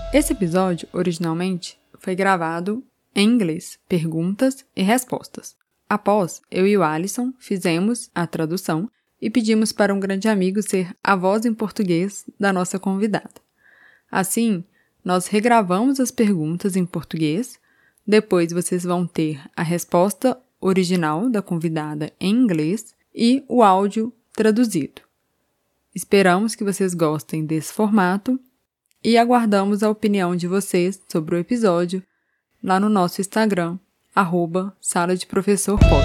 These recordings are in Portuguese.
Esse episódio, originalmente, foi gravado em inglês, perguntas e respostas. Após, eu e o Alisson fizemos a tradução e pedimos para um grande amigo ser a voz em português da nossa convidada. Assim, nós regravamos as perguntas em português, depois vocês vão ter a resposta original da convidada em inglês e o áudio traduzido. Esperamos que vocês gostem desse formato e aguardamos a opinião de vocês sobre o episódio lá no nosso Instagram, @sala-de-professor-pod.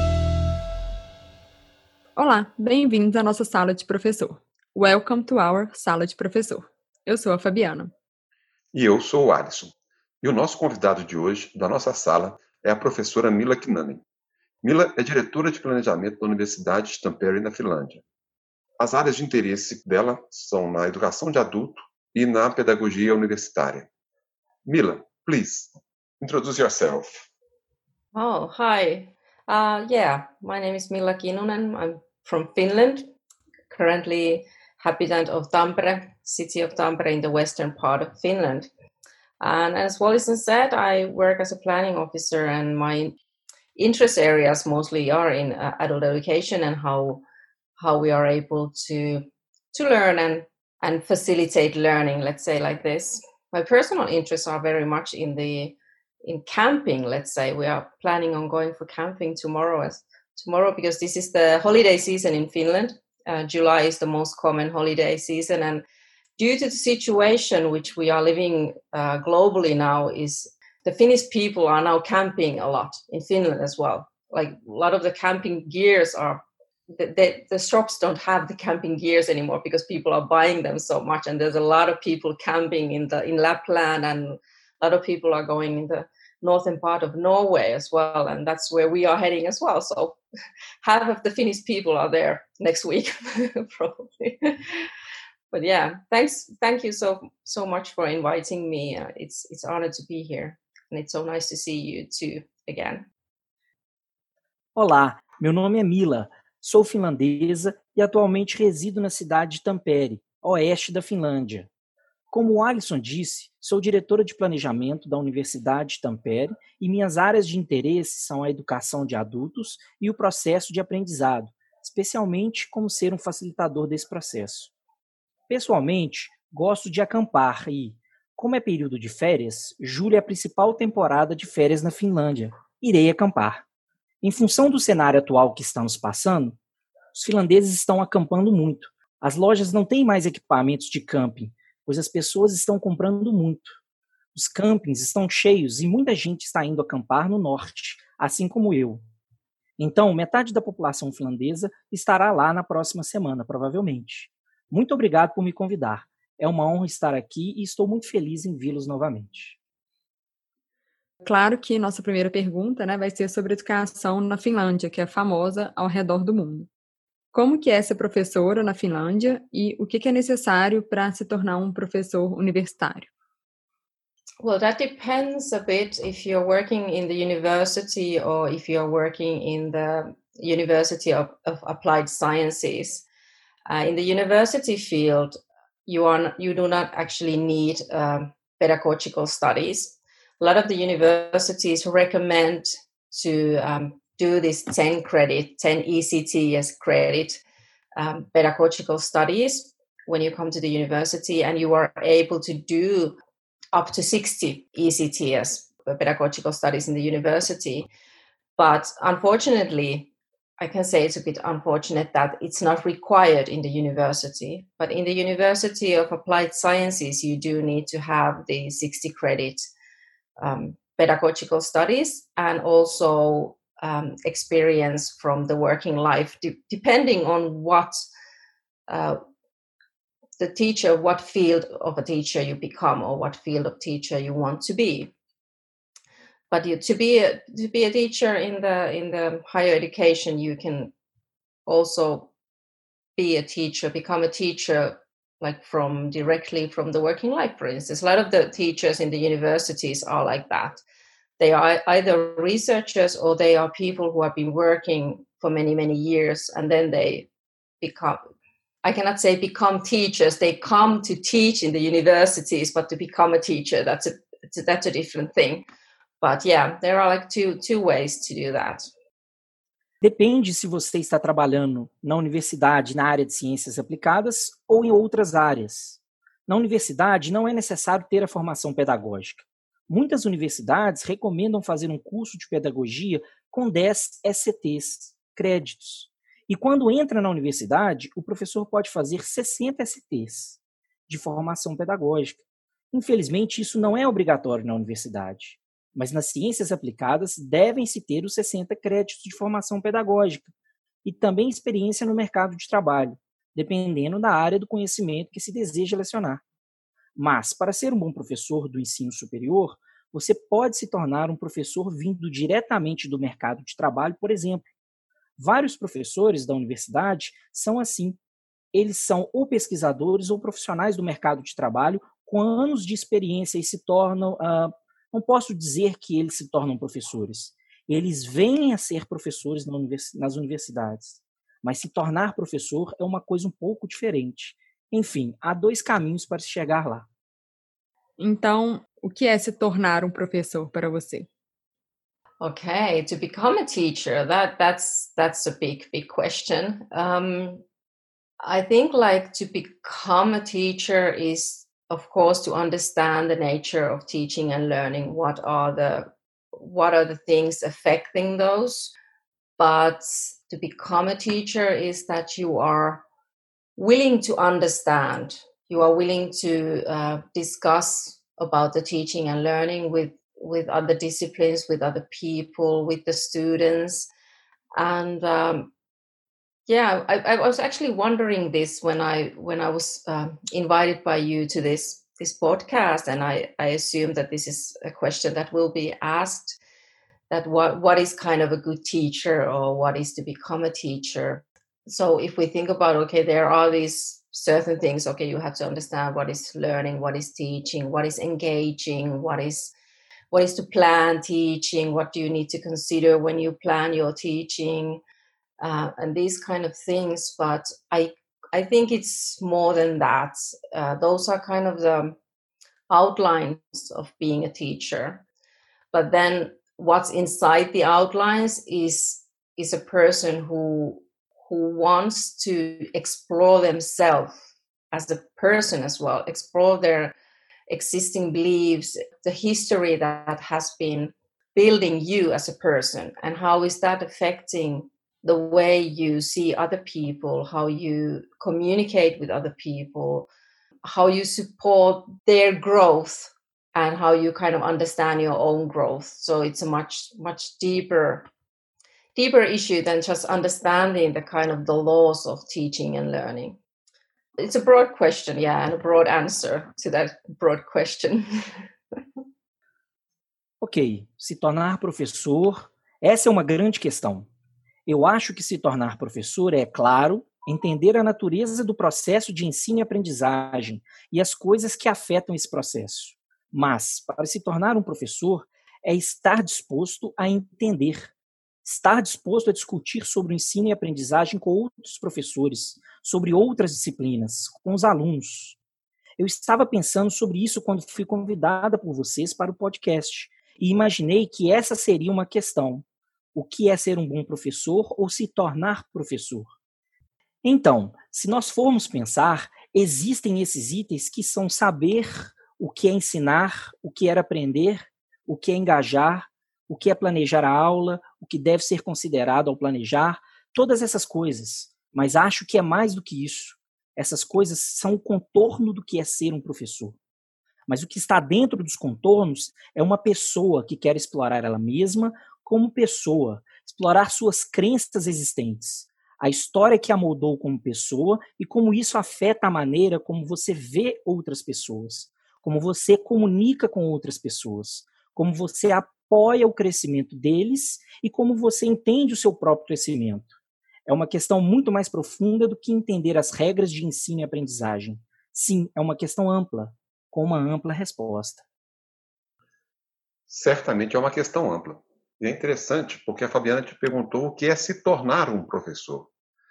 Olá, bem-vindos à nossa sala de professor. Welcome to our sala de professor. Eu sou a Fabiana. E eu sou o Alisson. E o nosso convidado de hoje, da nossa sala, é a professora Mila Kinnunen. Mila é diretora de planejamento da Universidade de Tampere, na Finlândia. As áreas de interesse dela são na educação de adulto e na pedagogia universitária. Mila, please, introduce yourself. Oh, hi. My name is Milla Kinnunen. I'm from Finland, currently habitant of Tampere, city of Tampere in the western part of Finland. And as Wallison said, I work as a planning officer, and my interest areas mostly are in adult education and how we are able to learn and facilitate learning, let's say like this. My personal interests are very much in camping. Let's say we are planning on going for camping tomorrow because this is the holiday season in Finland. July is the most common holiday season, and due to the situation which we are living globally now, is the Finnish people are now camping a lot in Finland as well. Like a lot of the camping gears are, the shops don't have the camping gears anymore because people are buying them so much, and there's a lot of people camping in Lapland, and a lot of people are going in the northern part of Norway as well, and that's where we are heading as well. So half of the Finnish people are there next week probably. But yeah, thank you so much for inviting me. It's an honor to be here, and it's so nice to see you too again. Olá, meu nome é Mila, sou finlandesa e atualmente resido na cidade de Tampere, a oeste da Finlândia. Como o Alisson disse, sou diretora de planejamento da Universidade de Tampere e minhas áreas de interesse são a educação de adultos e o processo de aprendizado, especialmente como ser um facilitador desse processo. Pessoalmente, gosto de acampar e, como é período de férias, julho é a principal temporada de férias na Finlândia. Irei acampar. Em função do cenário atual que estamos passando, os finlandeses estão acampando muito. As lojas não têm mais equipamentos de camping, pois as pessoas estão comprando muito. Os campings estão cheios e muita gente está indo acampar no norte, assim como eu. Então, metade da população finlandesa estará lá na próxima semana, provavelmente. Muito obrigado por me convidar. É uma honra estar aqui e estou muito feliz em vê-los novamente. Claro que nossa primeira pergunta, vai ser sobre educação na Finlândia, que é famosa ao redor do mundo. Como que é ser professora na Finlândia e o que é necessário para se tornar um professor universitário? Well, that depends a bit if you're working in the university or if you're working in the University of Applied Sciences. In the university field, you do not actually need pedagogical studies. A lot of the universities recommend to do this 10 ECTS credit pedagogical studies when you come to the university, and you are able to do up to 60 ECTS pedagogical studies in the university. But unfortunately, I can say it's a bit unfortunate that it's not required in the university. But in the University of Applied Sciences, you do need to have the 60 credit pedagogical studies and also experience from the working life, depending on what the teacher, what field of a teacher you become or what field of teacher you want to be. But to be a teacher in the higher education, you can also become a teacher like directly from the working life, for instance. A lot of the teachers in the universities are like that. They are either researchers or they are people who have been working for many, many years, and then they I cannot say become teachers. They come to teach in the universities, but to become a teacher, that's a different thing. But yeah, there are like two ways to do that. Depende se você está trabalhando na universidade, na área de ciências aplicadas ou em outras áreas. Na universidade, não é necessário ter a formação pedagógica. Muitas universidades recomendam fazer um curso de pedagogia com 10 SCTs, créditos. E quando entra na universidade, o professor pode fazer 60 SCTs de formação pedagógica. Infelizmente, isso não é obrigatório na universidade. Mas nas ciências aplicadas devem-se ter os 60 créditos de formação pedagógica e também experiência no mercado de trabalho, dependendo da área do conhecimento que se deseja lecionar. Mas, para ser um bom professor do ensino superior, você pode se tornar um professor vindo diretamente do mercado de trabalho, por exemplo. Vários professores da universidade são assim. Eles são ou pesquisadores ou profissionais do mercado de trabalho com anos de experiência e se tornam... Não posso dizer que eles se tornam professores. Eles vêm a ser professores nas universidades. Mas se tornar professor é uma coisa um pouco diferente. Enfim, há 2 caminhos para se chegar lá. Então, o que é se tornar um professor para você? Okay, to become a teacher, that's a big question. I think like to become a teacher is, of course, to understand the nature of teaching and learning. What are the things affecting those? But to become a teacher is that you are willing to understand. You are willing to discuss about the teaching and learning with other disciplines, with other people, with the students. And I was actually wondering this when I was invited by you to this podcast, and I assume that this is a question that will be asked, that what is kind of a good teacher, or what is to become a teacher. So if we think about, okay, there are these certain things, okay, you have to understand what is learning, what is teaching, what is engaging, what is to plan teaching, what do you need to consider when you plan your teaching, and these kind of things. But I think it's more than that. Those are kind of the outlines of being a teacher. But then what's inside the outlines is a person who wants to explore themselves as a person as well, explore their existing beliefs, the history that has been building you as a person, and how is that affecting the way you see other people, how you communicate with other people, how you support their growth, and how you kind of understand your own growth. So it's a much deeper issue than just understanding the kind of the laws of teaching and learning. It's a broad question, yeah, and a broad answer to that broad question. Ok, se tornar professor, essa é uma grande questão. Eu acho que se tornar professor é, claro, entender a natureza do processo de ensino e aprendizagem e as coisas que afetam esse processo. Mas, para se tornar um professor, é estar disposto a entender, estar disposto a discutir sobre o ensino e aprendizagem com outros professores, sobre outras disciplinas, com os alunos. Eu estava pensando sobre isso quando fui convidada por vocês para o podcast e imaginei que essa seria uma questão. O que é ser um bom professor ou se tornar professor? Então, se nós formos pensar, existem esses itens que são saber o que é ensinar, o que é aprender, o que é engajar, o que é planejar a aula, o que deve ser considerado ao planejar, todas essas coisas. Mas acho que é mais do que isso. Essas coisas são o contorno do que é ser um professor. Mas o que está dentro dos contornos é uma pessoa que quer explorar ela mesma como pessoa, explorar suas crenças existentes, a história que a moldou como pessoa e como isso afeta a maneira como você vê outras pessoas, como você comunica com outras pessoas, como você apoia o crescimento deles e como você entende o seu próprio crescimento. É uma questão muito mais profunda do que entender as regras de ensino e aprendizagem. Sim, é uma questão ampla, com uma ampla resposta. Certamente é uma questão ampla. E é interessante porque a Fabiana te perguntou o que é se tornar um professor.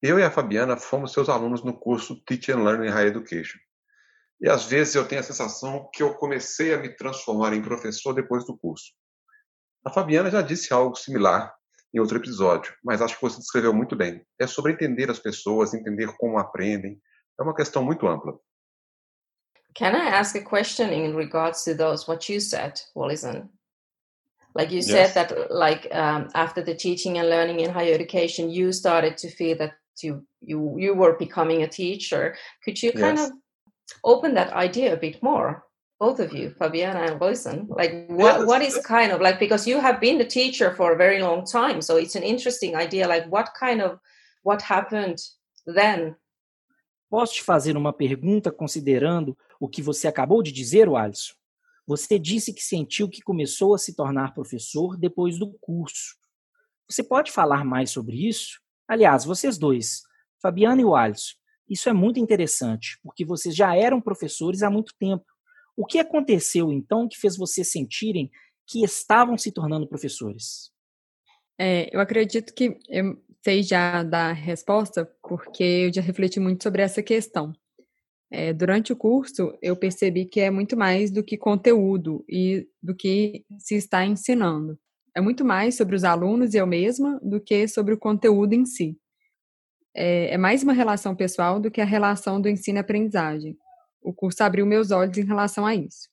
Eu e a Fabiana fomos seus alunos no curso Teaching and Learning Higher Education. E às vezes eu tenho a sensação que eu comecei a me transformar em professor depois do curso. A Fabiana já disse algo similar em outro episódio, mas acho que você descreveu muito bem. É sobre entender as pessoas, entender como aprendem. É uma questão muito ampla. Can I ask a question in regards to those what you said, Wallison? Like you said that, after the teaching and learning in higher education, you started to feel that you were becoming a teacher. Could you kind of open that idea a bit more, both of you, Fabiana and Wallison? Like what is kind of like, because you have been the teacher for a very long time, so it's an interesting idea. Like what happened then? Posso te fazer uma pergunta considerando o que você acabou de dizer, Alisson? Você disse que sentiu que começou a se tornar professor depois do curso. Você pode falar mais sobre isso? Aliás, vocês dois, Fabiana e o Alisson, isso é muito interessante, porque vocês já eram professores há muito tempo. O que aconteceu, então, que fez vocês sentirem que estavam se tornando professores? Eu acredito que eu sei já dar resposta, porque eu já refleti muito sobre essa questão. Durante o curso, eu percebi que é muito mais do que conteúdo e do que se está ensinando. É muito mais sobre os alunos e eu mesma do que sobre o conteúdo em si. É mais uma relação pessoal do que a relação do ensino e aprendizagem. O curso abriu meus olhos em relação a isso.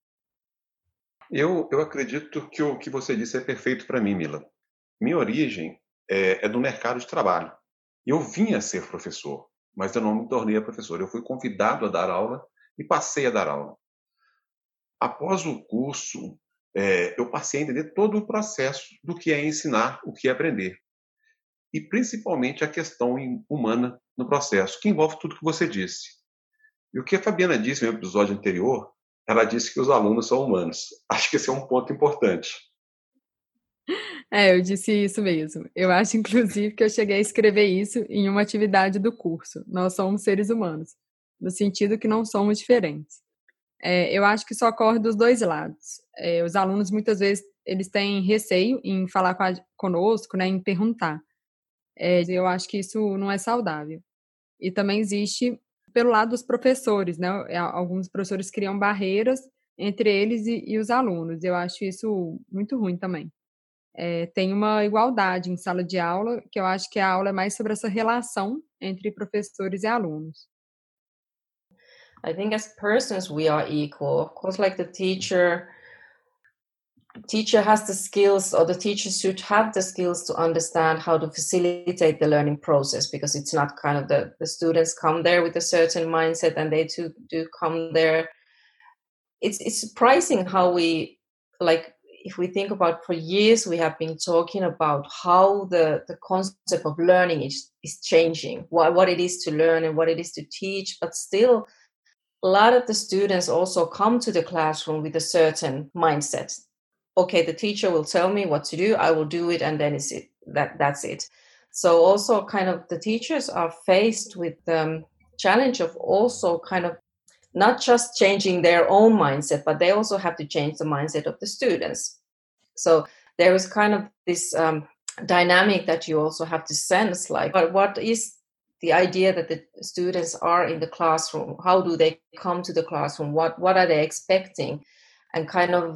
Eu acredito que o que você disse é perfeito para mim, Mila. Minha origem é do mercado de trabalho. Eu vinha a ser professor, mas eu não me tornei professor. Eu fui convidado a dar aula e passei a dar aula. Após o curso, eu passei a entender todo o processo do que é ensinar, o que é aprender. E principalmente a questão humana no processo, que envolve tudo que você disse. E o que a Fabiana disse no episódio anterior, ela disse que os alunos são humanos. Acho que esse é um ponto importante. Eu disse isso mesmo. Eu acho, inclusive, que eu cheguei a escrever isso em uma atividade do curso. Nós somos seres humanos, no sentido que não somos diferentes. Eu acho que isso ocorre dos dois lados. Os alunos, muitas vezes, eles têm receio em falar conosco, né, em perguntar. Eu acho que isso não é saudável. E também existe pelo lado dos professores, né? Alguns professores criam barreiras entre eles e os alunos. Eu acho isso muito ruim também. Tem uma igualdade em sala de aula, que eu acho que a aula é mais sobre essa relação entre professores e alunos. I think as persons we are equal. Of course, like the teacher has the skills, or the teacher should have the skills to understand how to facilitate the learning process, because it's not kind of the students come there with a certain mindset and they too do come there. It's surprising how we, like, if we think about, for years we have been talking about how the concept of learning is changing, what it is to learn and what it is to teach, but still a lot of the students also come to the classroom with a certain mindset. Okay, the teacher will tell me what to do, I will do it, and then that's it. So also kind of the teachers are faced with the challenge of also kind of not just changing their own mindset, but they also have to change the mindset of the students. So there is kind of this dynamic that you also have to sense, like what is the idea that the students are in the classroom? How do they come to the classroom? What are they expecting? And kind of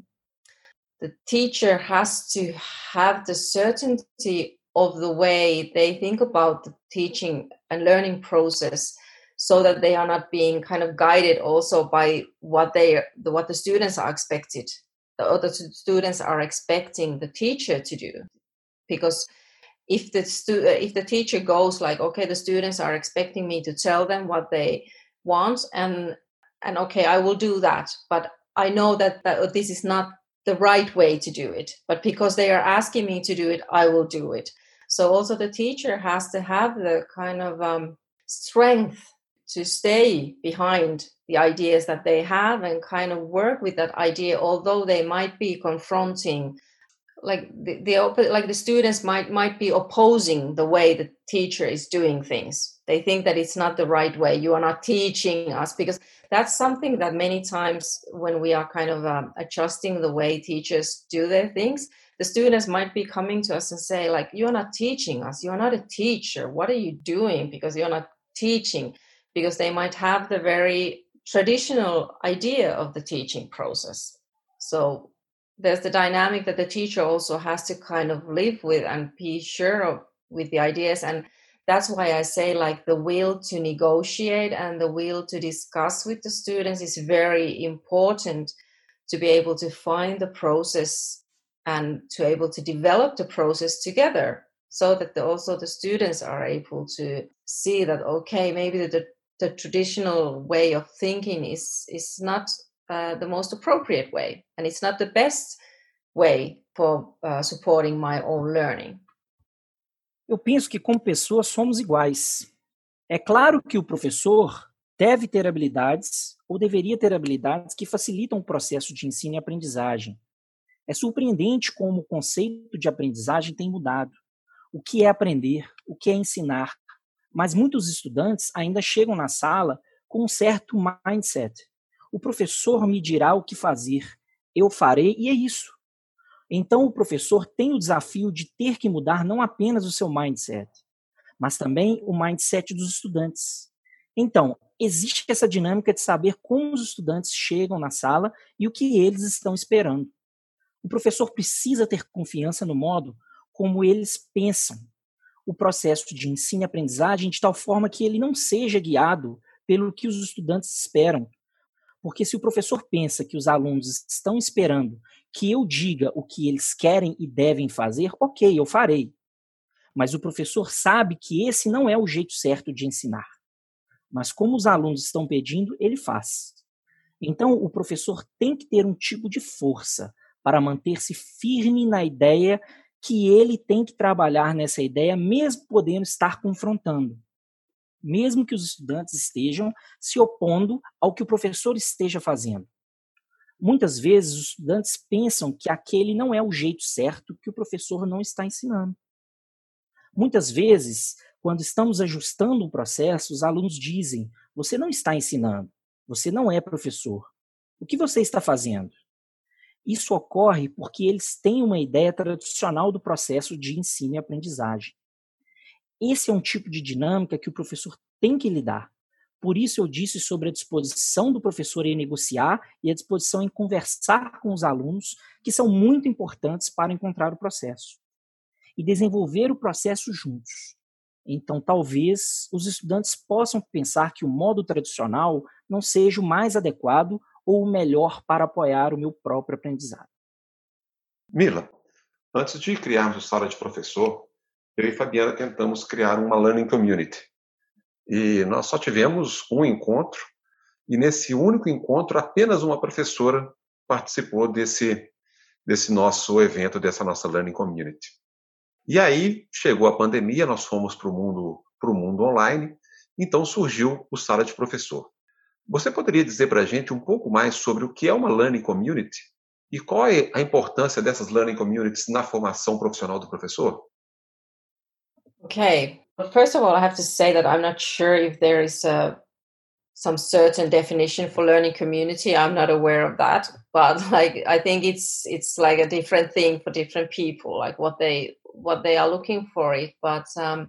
the teacher has to have the certainty of the way they think about the teaching and learning process, so that they are not being kind of guided also by what the students are expected, or the students are expecting the teacher to do. Because if the teacher goes like, okay, the students are expecting me to tell them what they want, and okay, I will do that, but I know that this is not the right way to do it, but because they are asking me to do it, I will do it. So also the teacher has to have the kind of strength to stay behind the ideas that they have and kind of work with that idea, although they might be confronting, like the students might be opposing the way the teacher is doing things. They think that it's not the right way. You are not teaching us, because that's something that many times when we are kind of adjusting the way teachers do their things, the students might be coming to us and say, like, you're not teaching us, you're not a teacher, what are you doing? Because you're not teaching, because they might have the very traditional idea of the teaching process. So there's the dynamic that the teacher also has to kind of live with and be sure of with the ideas. And that's why I say, like, the will to negotiate and the will to discuss with the students is very important, to be able to find the process and to able to develop the process together, so that also the students are able to see that, okay, maybe the traditional way of thinking is not the most appropriate way, and it's not the best way for supporting my own learning. Eu penso que, como pessoas, somos iguais. É claro que o professor deve ter habilidades, ou deveria ter habilidades, que facilitam o processo de ensino e aprendizagem. É surpreendente como o conceito de aprendizagem tem mudado. O que é aprender, o que é ensinar. Mas muitos estudantes ainda chegam na sala com um certo mindset. O professor me dirá o que fazer, eu farei e é isso. Então o professor tem o desafio de ter que mudar não apenas o seu mindset, mas também o mindset dos estudantes. Então, existe essa dinâmica de saber como os estudantes chegam na sala e o que eles estão esperando. O professor precisa ter confiança no modo como eles pensam o processo de ensino e aprendizagem, de tal forma que ele não seja guiado pelo que os estudantes esperam. Porque se o professor pensa que os alunos estão esperando que eu diga o que eles querem e devem fazer, ok, eu farei. Mas o professor sabe que esse não é o jeito certo de ensinar. Mas como os alunos estão pedindo, ele faz. Então, o professor tem que ter um tipo de força para manter-se firme na ideia que ele tem que trabalhar nessa ideia, mesmo podendo estar confrontando. Mesmo que os estudantes estejam se opondo ao que o professor esteja fazendo. Muitas vezes, os estudantes pensam que aquele não é o jeito certo, que o professor não está ensinando. Muitas vezes, quando estamos ajustando um processo, os alunos dizem: você não está ensinando, você não é professor. O que você está fazendo? Isso ocorre porque eles têm uma ideia tradicional do processo de ensino e aprendizagem. Esse é um tipo de dinâmica que o professor tem que lidar. Por isso eu disse sobre a disposição do professor em negociar e a disposição em conversar com os alunos, que são muito importantes para encontrar o processo. E desenvolver o processo juntos. Então, talvez os estudantes possam pensar que o modo tradicional não seja o mais adequado ou o melhor para apoiar o meu próprio aprendizado. Mila, antes de criarmos o Sala de Professor, eu e Fabiana tentamos criar uma Learning Community. E nós só tivemos um encontro, e nesse único encontro apenas uma professora participou desse nosso evento, dessa nossa Learning Community. E aí chegou a pandemia, nós fomos para o mundo online, então surgiu o Sala de Professor. Você poderia dizer para a gente um pouco mais sobre o que é uma Learning Community e qual é a importância dessas Learning Communities na formação profissional do professor? Okay. Well, first of all, I have to say that I'm not sure if there is some certain definition for learning community. I'm not aware of that, but like I think it's like a different thing for different people, like what they are looking for it. But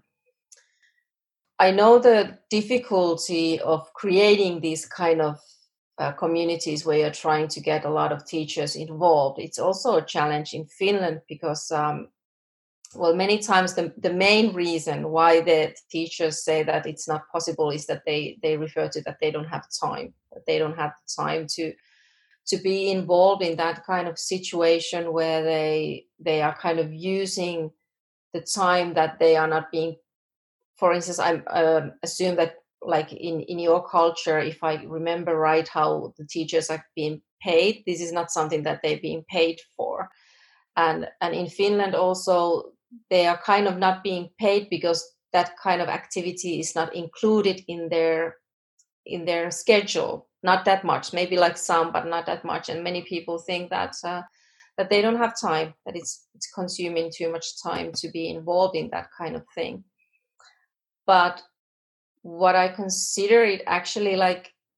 I know the difficulty of creating these kind of communities where you're trying to get a lot of teachers involved. It's also a challenge in Finland because well, many times the main reason why the teachers say that it's not possible is that they refer to that they don't have time. That they don't have time to be involved in that kind of situation where they are kind of using the time that they are not being. For instance, I assume that like in your culture, if I remember right, how the teachers are being paid, this is not something that they're being paid for. And in Finland also, they are kind of not being paid because that kind of activity is not included in their schedule. Not that much, maybe like some, but not that much. And many people think that they don't have time, that it's consuming too much time to be involved in that kind of thing. But what I consider it actually like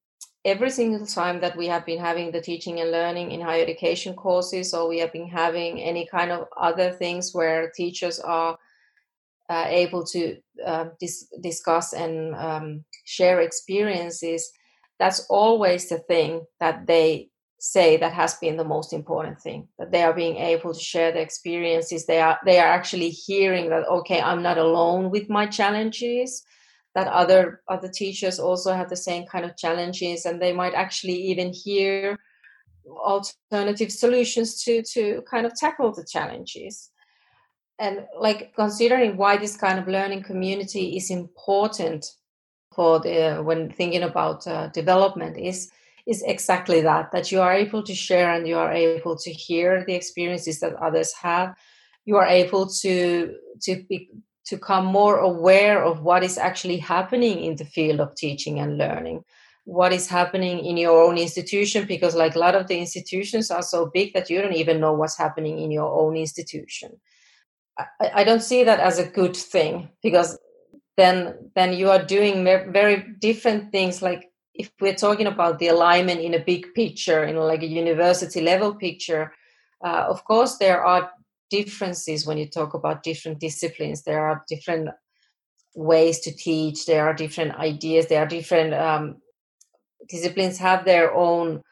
every single time that we have been having the teaching and learning in higher education courses, or we have been having any kind of other things where teachers are able to discuss and share experiences, that's always the thing that they say that has been the most important thing, that they are being able to share the experiences. They are actually hearing that, okay, I'm not alone with my challenges, that other teachers also have the same kind of challenges, and they might actually even hear alternative solutions to kind of tackle the challenges. And like considering why this kind of learning community is important for when thinking about development is exactly that you are able to share and you are able to hear the experiences that others have. You are able to become more aware of what is actually happening in the field of teaching and learning, what is happening in your own institution, because like a lot of the institutions are so big that you don't even know what's happening in your own institution. I don't see that as a good thing, because then you are doing very different things. Like if we're talking about the alignment in a big picture, in like a university level picture, of course there are differences when you talk about different disciplines. There are different ways to teach. There are different ideas. There are different disciplines have their own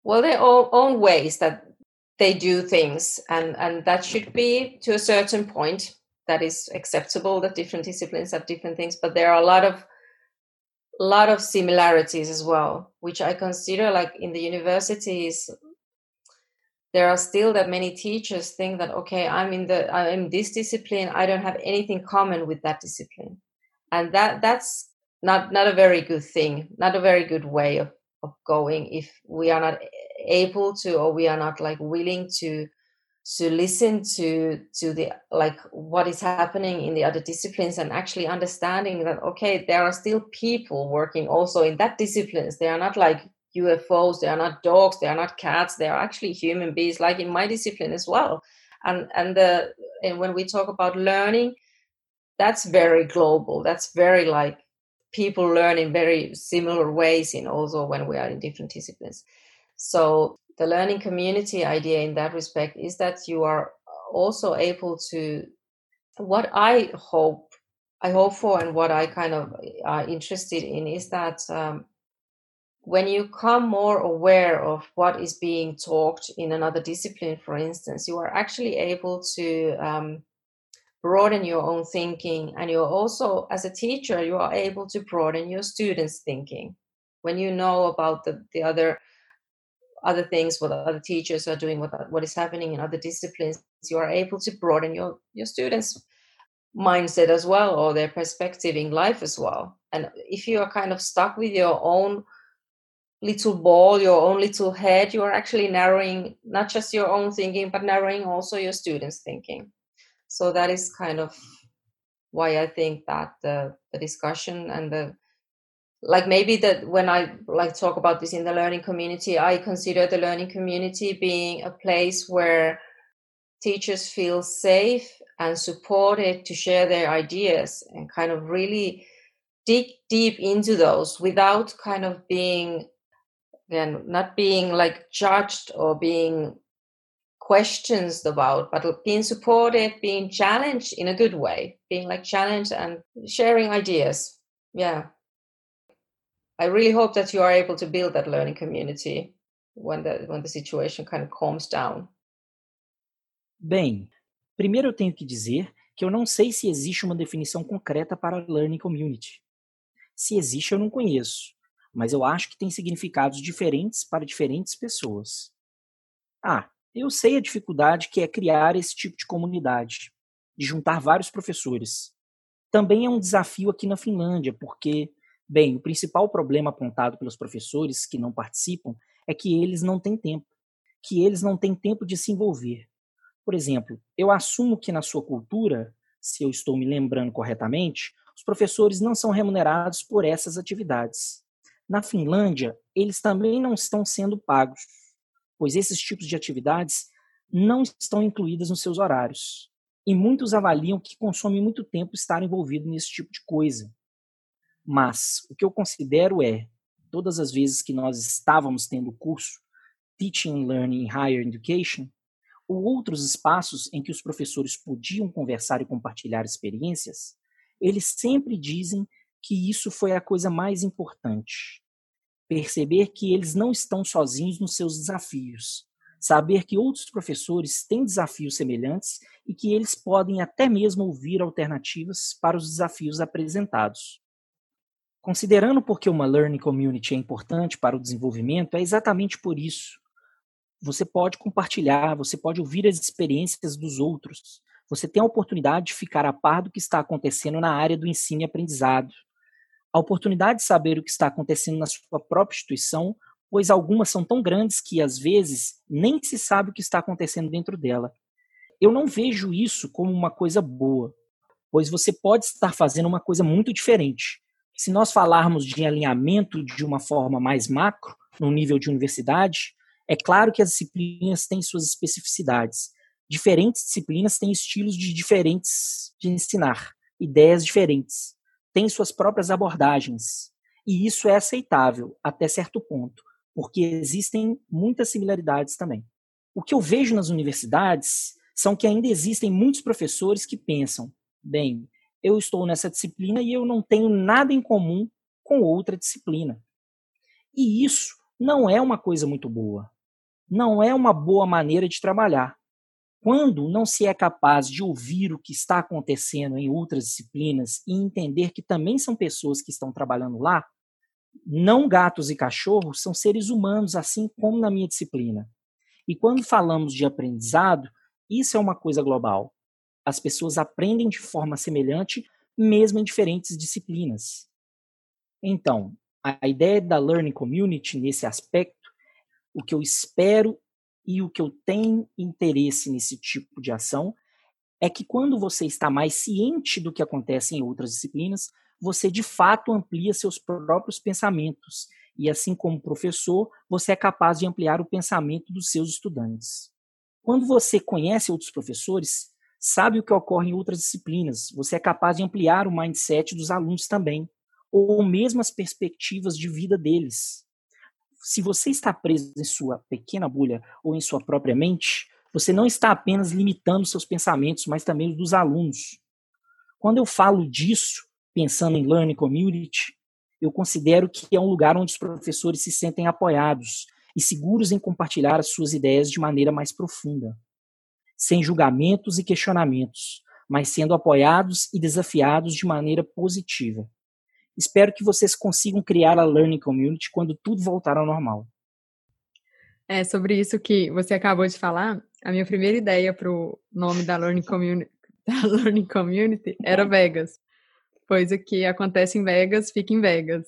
ways that they do things, and that should be to a certain point that is acceptable, that different disciplines have different things, but there are a lot of similarities as well, which I consider, like in the universities, there are still that many teachers think that, okay, I'm in this discipline, I don't have anything common with that discipline, and that's not a very good thing, not a very good way of going, if we are not able to, or we are not like willing to listen to the like what is happening in the other disciplines, and actually understanding that, okay, there are still people working also in that disciplines. They are not like UFOs, they are not dogs, they are not cats, they are actually human beings, like in my discipline as well. And when we talk about learning, that's very global, that's very like people learn in very similar ways in also when we are in different disciplines. So the learning community idea in that respect is that you are also able to, what I hope for, and what I kind of are interested in, is that when you come more aware of what is being talked in another discipline, for instance, you are actually able to broaden your own thinking, and you're also, as a teacher, you are able to broaden your students' thinking. When you know about the other things, what other teachers are doing, what is happening in other disciplines, you are able to broaden your students' mindset as well, or their perspective in life as well. And if you are kind of stuck with your own little ball, your own little head, you are actually narrowing not just your own thinking, but narrowing also your students' thinking. So that is kind of why I think that the discussion and the, like, maybe that when I like talk about this in the learning community, I consider the learning community being a place where teachers feel safe and supported to share their ideas and kind of really dig deep into those without kind of being, again, not being like judged or being questions about, but being supported, being challenged in a good way, being like challenged and sharing ideas. Yeah. I really hope that you are able to build that learning community when the situation kind of calms down. Bem, primeiro eu tenho que dizer que eu não sei se existe uma definição concreta para learning community. Se existe, eu não conheço, mas eu acho que tem significados diferentes para diferentes pessoas. Eu sei a dificuldade que é criar esse tipo de comunidade, de juntar vários professores. Também é um desafio aqui na Finlândia, porque, bem, o principal problema apontado pelos professores que não participam é que eles não têm tempo, de se envolver. Por exemplo, eu assumo que na sua cultura, se eu estou me lembrando corretamente, os professores não são remunerados por essas atividades. Na Finlândia, eles também não estão sendo pagos, pois esses tipos de atividades não estão incluídas nos seus horários. E muitos avaliam que consome muito tempo estar envolvido nesse tipo de coisa. Mas o que eu considero é, todas as vezes que nós estávamos tendo o curso Teaching and Learning in Higher Education, ou outros espaços em que os professores podiam conversar e compartilhar experiências, eles sempre dizem que isso foi a coisa mais importante. Perceber que eles não estão sozinhos nos seus desafios. Saber que outros professores têm desafios semelhantes e que eles podem até mesmo ouvir alternativas para os desafios apresentados. Considerando porque uma learning community é importante para o desenvolvimento, é exatamente por isso. Você pode compartilhar, você pode ouvir as experiências dos outros. Você tem a oportunidade de ficar a par do que está acontecendo na área do ensino e aprendizado. A oportunidade de saber o que está acontecendo na sua própria instituição, pois algumas são tão grandes que, às vezes, nem se sabe o que está acontecendo dentro dela. Eu não vejo isso como uma coisa boa, pois você pode estar fazendo uma coisa muito diferente. Se nós falarmos de alinhamento de uma forma mais macro, no nível de universidade, é claro que as disciplinas têm suas especificidades. Diferentes disciplinas têm estilos diferentes de ensinar, ideias diferentes, têm suas próprias abordagens. E isso é aceitável até certo ponto, porque existem muitas similaridades também. O que eu vejo nas universidades são que ainda existem muitos professores que pensam, bem, eu estou nessa disciplina e eu não tenho nada em comum com outra disciplina. E isso não é uma coisa muito boa. Não é uma boa maneira de trabalhar. Quando não se é capaz de ouvir o que está acontecendo em outras disciplinas e entender que também são pessoas que estão trabalhando lá, não gatos e cachorros são seres humanos, assim como na minha disciplina. E quando falamos de aprendizado, isso é uma coisa global. As pessoas aprendem de forma semelhante, mesmo em diferentes disciplinas. Então, a ideia da Learning Community, nesse aspecto, o que eu espero e o que eu tenho interesse nesse tipo de ação é que quando você está mais ciente do que acontece em outras disciplinas, você de fato amplia seus próprios pensamentos e, assim como professor, você é capaz de ampliar o pensamento dos seus estudantes. Quando você conhece outros professores, sabe o que ocorre em outras disciplinas, você é capaz de ampliar o mindset dos alunos também, ou mesmo as perspectivas de vida deles. Se você está preso em sua pequena bolha ou em sua própria mente, você não está apenas limitando seus pensamentos, mas também os dos alunos. Quando eu falo disso, pensando em Learning Community, eu considero que é um lugar onde os professores se sentem apoiados e seguros em compartilhar as suas ideias de maneira mais profunda, sem julgamentos e questionamentos, mas sendo apoiados e desafiados de maneira positiva. Espero que vocês consigam criar a Learning Community quando tudo voltar ao normal. Sobre isso que você acabou de falar, a minha primeira ideia para o nome da Learning Community era Vegas, pois o que acontece em Vegas fica em Vegas.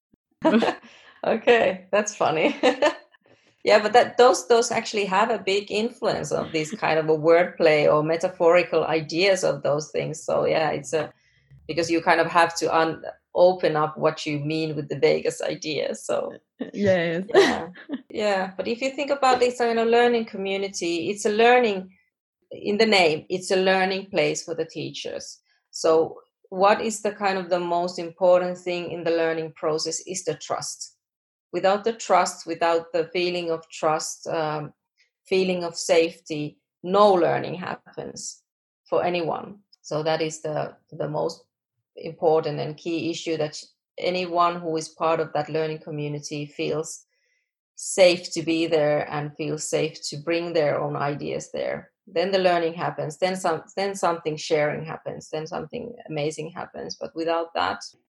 Okay, that's funny. Yeah, but those actually have a big influence of this kind of a wordplay or metaphorical ideas of those things. So yeah, it's because you kind of have to open up what you mean with the Vegas idea. So yes. Yeah. But if you think about this learning community, it's a learning in the name. It's a learning place for the teachers. So what is the kind of the most important thing in the learning process is the trust. Without the trust, without the feeling of trust, feeling of safety, no learning happens for anyone. So that is the most important and key issue, that anyone who is part of that learning community feels safe to be there and feels safe to bring their own ideas there. Then the learning happens, then something sharing happens, then something amazing happens. But without that...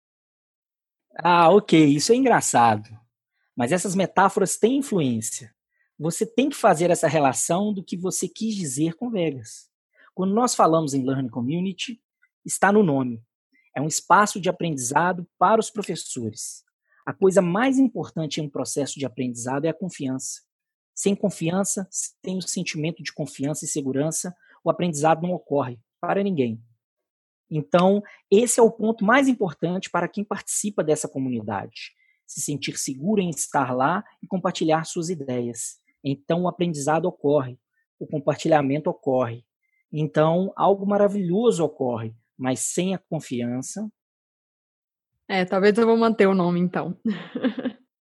Ok, isso é engraçado. Mas essas metáforas têm influência. Você tem que fazer essa relação do que você quis dizer com Vegas. Quando nós falamos em Learning Community, está no nome. É um espaço de aprendizado para os professores. A coisa mais importante em um processo de aprendizado é a confiança. Sem confiança, sem o sentimento de confiança e segurança, o aprendizado não ocorre para ninguém. Então, esse é o ponto mais importante para quem participa dessa comunidade. Se sentir seguro em estar lá e compartilhar suas ideias. Então, o aprendizado ocorre, o compartilhamento ocorre. Então, algo maravilhoso ocorre, mas sem a confiança... Talvez eu vou manter o nome, então.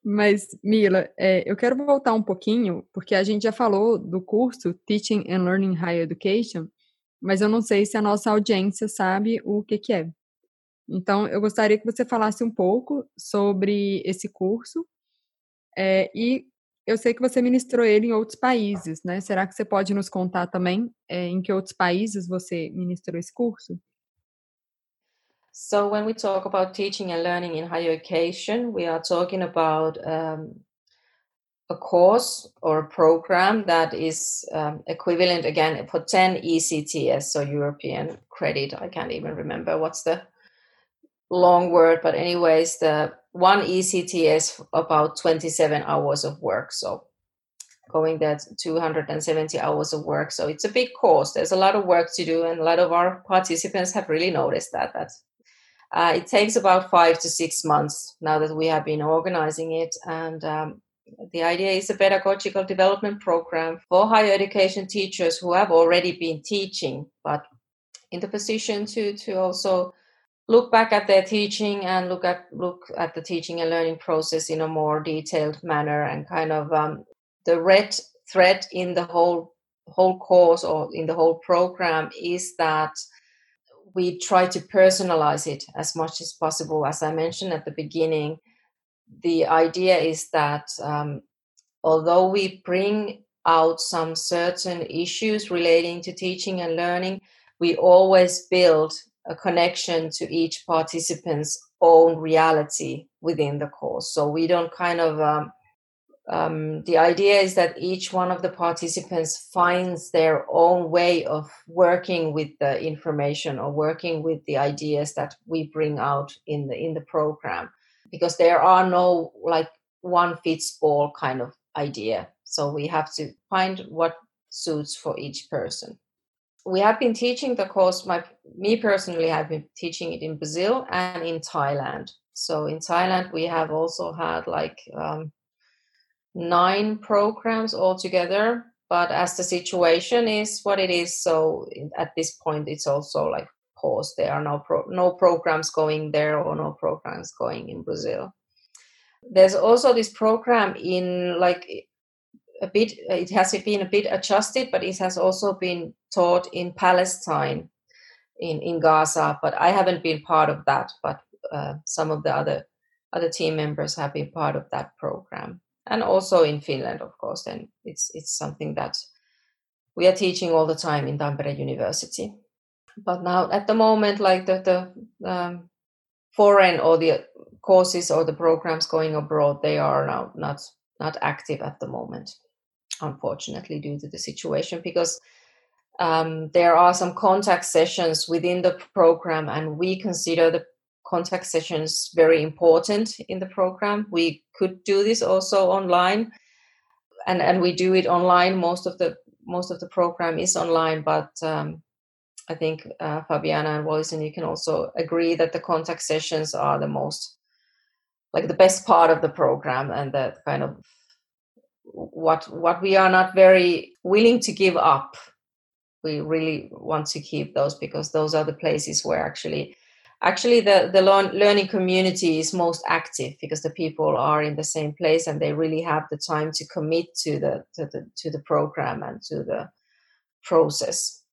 Mas, Mila, eu quero voltar um pouquinho, porque a gente já falou do curso Teaching and Learning Higher Education, mas eu não sei se a nossa audiência sabe o que é. Então, eu gostaria que você falasse um pouco sobre esse curso, e eu sei que você ministrou ele em outros países, né? Será que você pode nos contar também em que outros países você ministrou esse curso? So when we talk about teaching and learning in higher education, we are talking about a course or a program that is equivalent again for 10 ECTS, so European credit. I can't even remember what's the long word, but anyways, the one ECTS about 27 hours of work. So going there 270 hours of work. So it's a big course. There's a lot of work to do, and a lot of our participants have really noticed that. It takes about 5 to 6 months now that we have been organizing it, and the idea is a pedagogical development program for higher education teachers who have already been teaching, but in the position to also look back at their teaching and look at the teaching and learning process in a more detailed manner, and kind of the red thread in the whole course or in the whole program is that we try to personalize it as much as possible. As I mentioned at the beginning, the idea is that although we bring out some certain issues relating to teaching and learning, we always build a connection to each participant's own reality within the course. So we don't kind of the idea is that each one of the participants finds their own way of working with the information or working with the ideas that we bring out in the program, because there are no like one fits all kind of idea. So we have to find what suits for each person. We have been teaching the course, me personally, have been teaching it in Brazil and in Thailand. So in Thailand, we have also had like 9 programs altogether, but as the situation is what it is, so at this point it's also like paused. There are no programs going there or no programs going in Brazil. There's also this program in like it has been a bit adjusted, but it has also been taught in Palestine, in Gaza, but I haven't been part of that, but some of the other team members have been part of that program. And also in Finland, of course, then it's something that we are teaching all the time in Tampere University. But now at the moment, like the foreign or the courses or the programs going abroad, they are now not active at the moment, unfortunately, due to the situation, because there are some contact sessions within the program, and we consider the contact sessions very important in the program. We could do this also online, and we do it online. Most of the program is online, but I think Fabiana and Wallis, you can also agree that the contact sessions are the most, like the best part of the program, and that kind of what we are not very willing to give up. We really want to keep those, because those are the places where actually the learning community is most active, because the people are in the same place and they really have the time to commit to the program and to the process.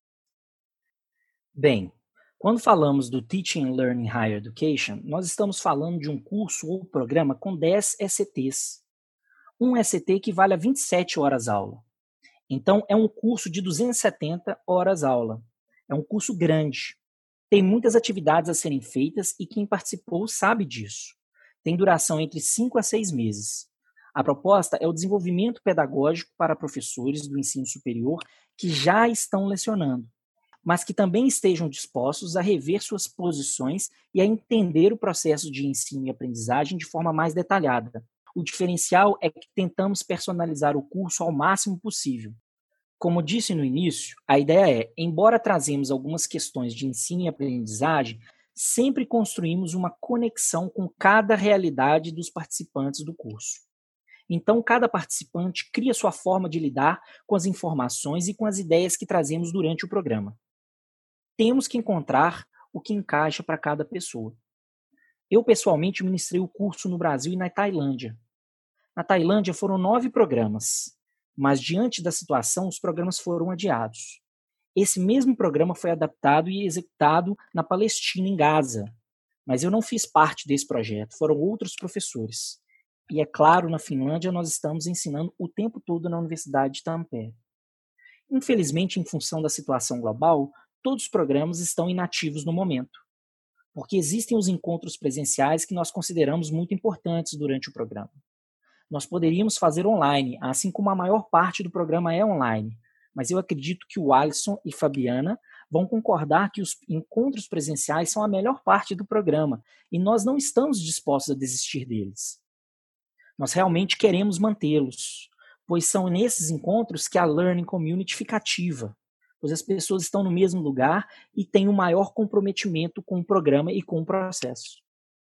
Bem, quando falamos do Teaching and Learning Higher Education, nós estamos falando de um curso ou programa com 10 ECTs. Um ECT equivale a 27 horas aula. Então, é um curso de 270 horas aula. É um curso grande. Tem muitas atividades a serem feitas e quem participou sabe disso. Tem duração entre 5 a 6 meses. A proposta é o desenvolvimento pedagógico para professores do ensino superior que já estão lecionando, mas que também estejam dispostos a rever suas posições e a entender o processo de ensino e aprendizagem de forma mais detalhada. O diferencial é que tentamos personalizar o curso ao máximo possível. Como disse no início, a ideia é, embora trazemos algumas questões de ensino e aprendizagem, sempre construímos uma conexão com cada realidade dos participantes do curso. Então, cada participante cria sua forma de lidar com as informações e com as ideias que trazemos durante o programa. Temos que encontrar o que encaixa para cada pessoa. Eu, pessoalmente, ministrei o curso no Brasil e na Tailândia. Na Tailândia foram 9 programas, mas diante da situação, os programas foram adiados. Esse mesmo programa foi adaptado e executado na Palestina, em Gaza, mas eu não fiz parte desse projeto, foram outros professores. E é claro, na Finlândia nós estamos ensinando o tempo todo na Universidade de Tampere. Infelizmente, em função da situação global, todos os programas estão inativos no momento, porque existem os encontros presenciais que nós consideramos muito importantes durante o programa. Nós poderíamos fazer online, assim como a maior parte do programa é online, mas eu acredito que o Alisson e Fabiana vão concordar que os encontros presenciais são a melhor parte do programa e nós não estamos dispostos a desistir deles. Nós realmente queremos mantê-los, pois são nesses encontros que a Learning Community fica ativa, pois as pessoas estão no mesmo lugar e têm um maior comprometimento com o programa e com o processo.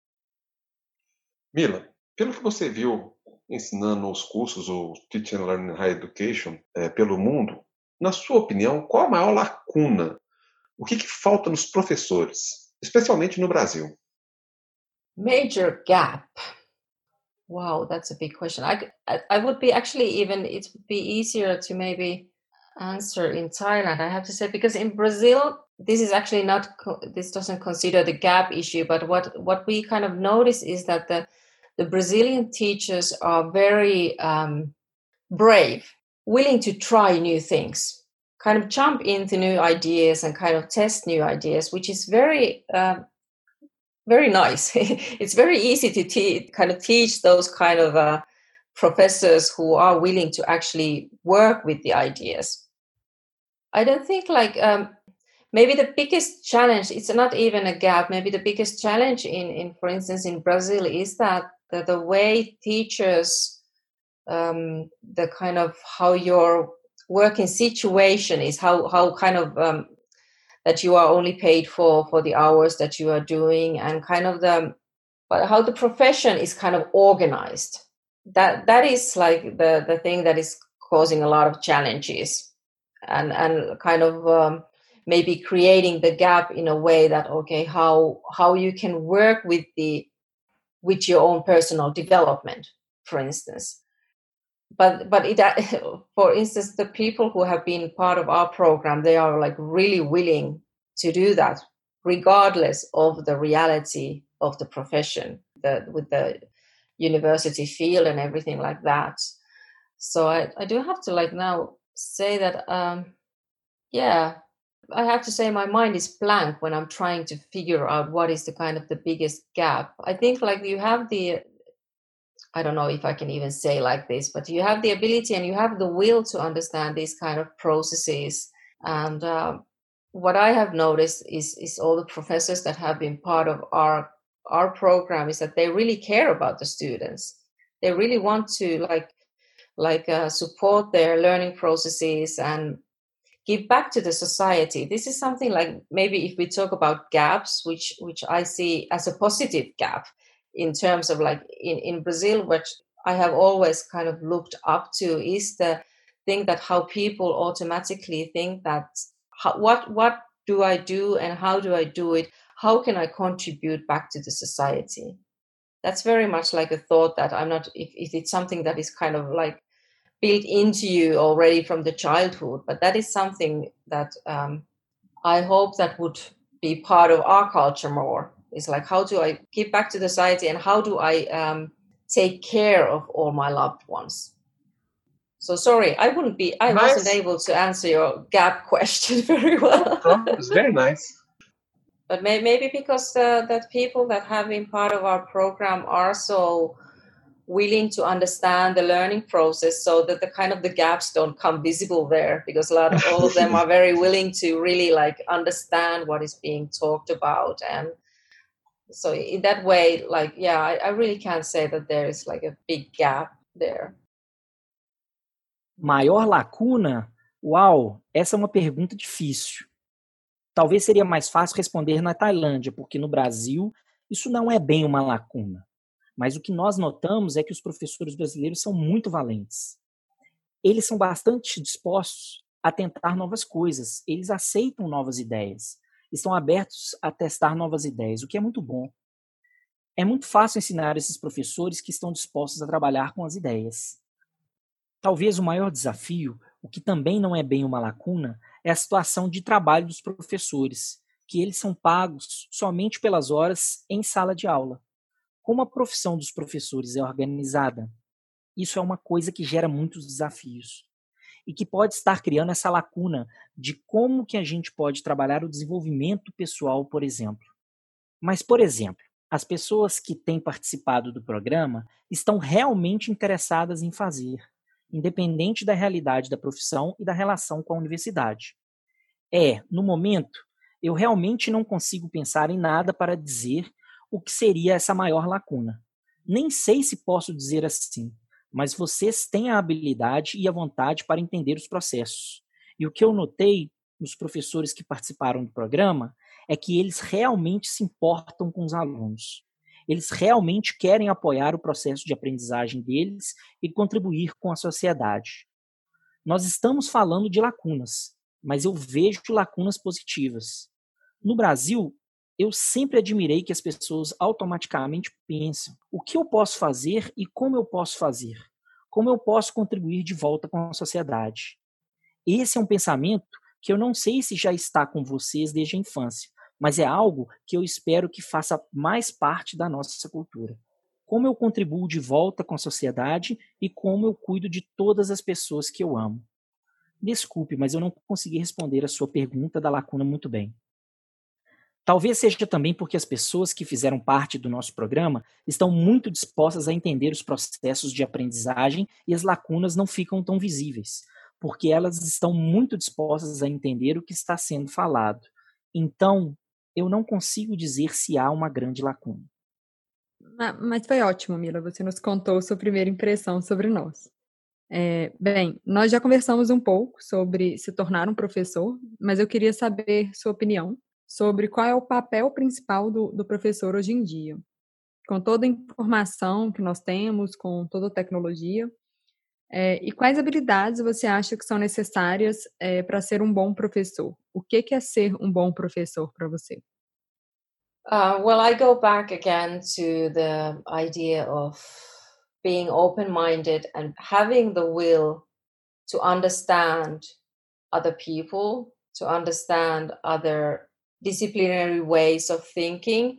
Mila, pelo que você viu ensinando os cursos, o Teaching and Learning Higher Education, pelo mundo, na sua opinião, qual a maior lacuna? O que falta nos professores, especialmente no Brasil? Major gap. Wow, that's a big question. I would be actually even, it would be easier to maybe answer in Thailand, I have to say, because in Brazil, this is actually not, this doesn't consider the gap issue, but what we kind of notice is that the Brazilian teachers are very brave, willing to try new things, kind of jump into new ideas and kind of test new ideas, which is very very nice. It's very easy to kind of teach those kind of professors who are willing to actually work with the ideas. I don't think like maybe the biggest challenge, it's not even a gap, maybe the biggest challenge in for instance, in Brazil is that the way teachers, the kind of how your working situation is, how kind of that you are only paid for the hours that you are doing, and kind of how the profession is kind of organized. That is like the thing that is causing a lot of challenges, and kind of maybe creating the gap in a way that, okay, how you can work with your own personal development, for instance. But it, for instance, the people who have been part of our program, they are like really willing to do that, regardless of the reality of the profession, with the university field and everything like that. So I do have to like now say that, yeah, I have to say my mind is blank when I'm trying to figure out what is the kind of the biggest gap. I think like you have I don't know if I can even say like this, but you have the ability and you have the will to understand these kind of processes. And what I have noticed is all the professors that have been part of our program is that they really care about the students. They really want to support their learning processes and give back to the society. This is something like, maybe if we talk about gaps, which I see as a positive gap, in terms of like in Brazil, which I have always kind of looked up to, is the thing that how people automatically think that what do I do and how do I do it? How can I contribute back to the society? That's very much like a thought that I'm not, if it's something that is kind of like built into you already from the childhood, but that is something that I hope that would be part of our culture more. It's like, how do I give back to the society and how do I take care of all my loved ones? So sorry, I wasn't able to answer your gap question very well. No, it's very nice. But maybe because that people that have been part of our program are so willing to understand the learning process, so that the kind of the gaps don't come visible there, because all of them are very willing to really like understand what is being talked about. And so in that way, like, yeah, I really can't say that there is like a big gap there. Maior lacuna? Uau, essa é uma pergunta difícil. Talvez seria mais fácil responder na Tailândia, porque no Brasil isso não é bem uma lacuna. Mas o que nós notamos é que os professores brasileiros são muito valentes. Eles são bastante dispostos a tentar novas coisas. Eles aceitam novas ideias. Estão abertos a testar novas ideias, o que é muito bom. É muito fácil ensinar esses professores que estão dispostos a trabalhar com as ideias. Talvez o maior desafio, o que também não é bem uma lacuna, é a situação de trabalho dos professores, que eles são pagos somente pelas horas em sala de aula. Como a profissão dos professores é organizada, isso é uma coisa que gera muitos desafios e que pode estar criando essa lacuna de como que a gente pode trabalhar o desenvolvimento pessoal, por exemplo. Mas, por exemplo, as pessoas que têm participado do programa estão realmente interessadas em fazer, independente da realidade da profissão e da relação com a universidade. No momento, eu realmente não consigo pensar em nada para dizer o que seria essa maior lacuna. Nem sei se posso dizer assim, mas vocês têm a habilidade e a vontade para entender os processos. E o que eu notei nos professores que participaram do programa é que eles realmente se importam com os alunos. Eles realmente querem apoiar o processo de aprendizagem deles e contribuir com a sociedade. Nós estamos falando de lacunas, mas eu vejo lacunas positivas. No Brasil, eu sempre admirei que as pessoas automaticamente pensam: o que eu posso fazer e como eu posso fazer? Como eu posso contribuir de volta com a sociedade? Esse é um pensamento que eu não sei se já está com vocês desde a infância, mas é algo que eu espero que faça mais parte da nossa cultura. Como eu contribuo de volta com a sociedade e como eu cuido de todas as pessoas que eu amo. Desculpe, mas eu não consegui responder a sua pergunta da lacuna muito bem. Talvez seja também porque as pessoas que fizeram parte do nosso programa estão muito dispostas a entender os processos de aprendizagem e as lacunas não ficam tão visíveis, porque elas estão muito dispostas a entender o que está sendo falado. Então, eu não consigo dizer se há uma grande lacuna. Mas foi ótimo, Mila, você nos contou sua primeira impressão sobre nós. Bem, nós já conversamos um pouco sobre se tornar um professor, mas eu queria saber sua opinião sobre qual é o papel principal do professor hoje em dia. Com toda a informação que nós temos, com toda a tecnologia, e quais habilidades você acha que são necessárias para ser um bom professor? O que é ser um bom professor para você? Well, I go back again to the idea of being open-minded and having the will to understand other people, to understand other disciplinary ways of thinking,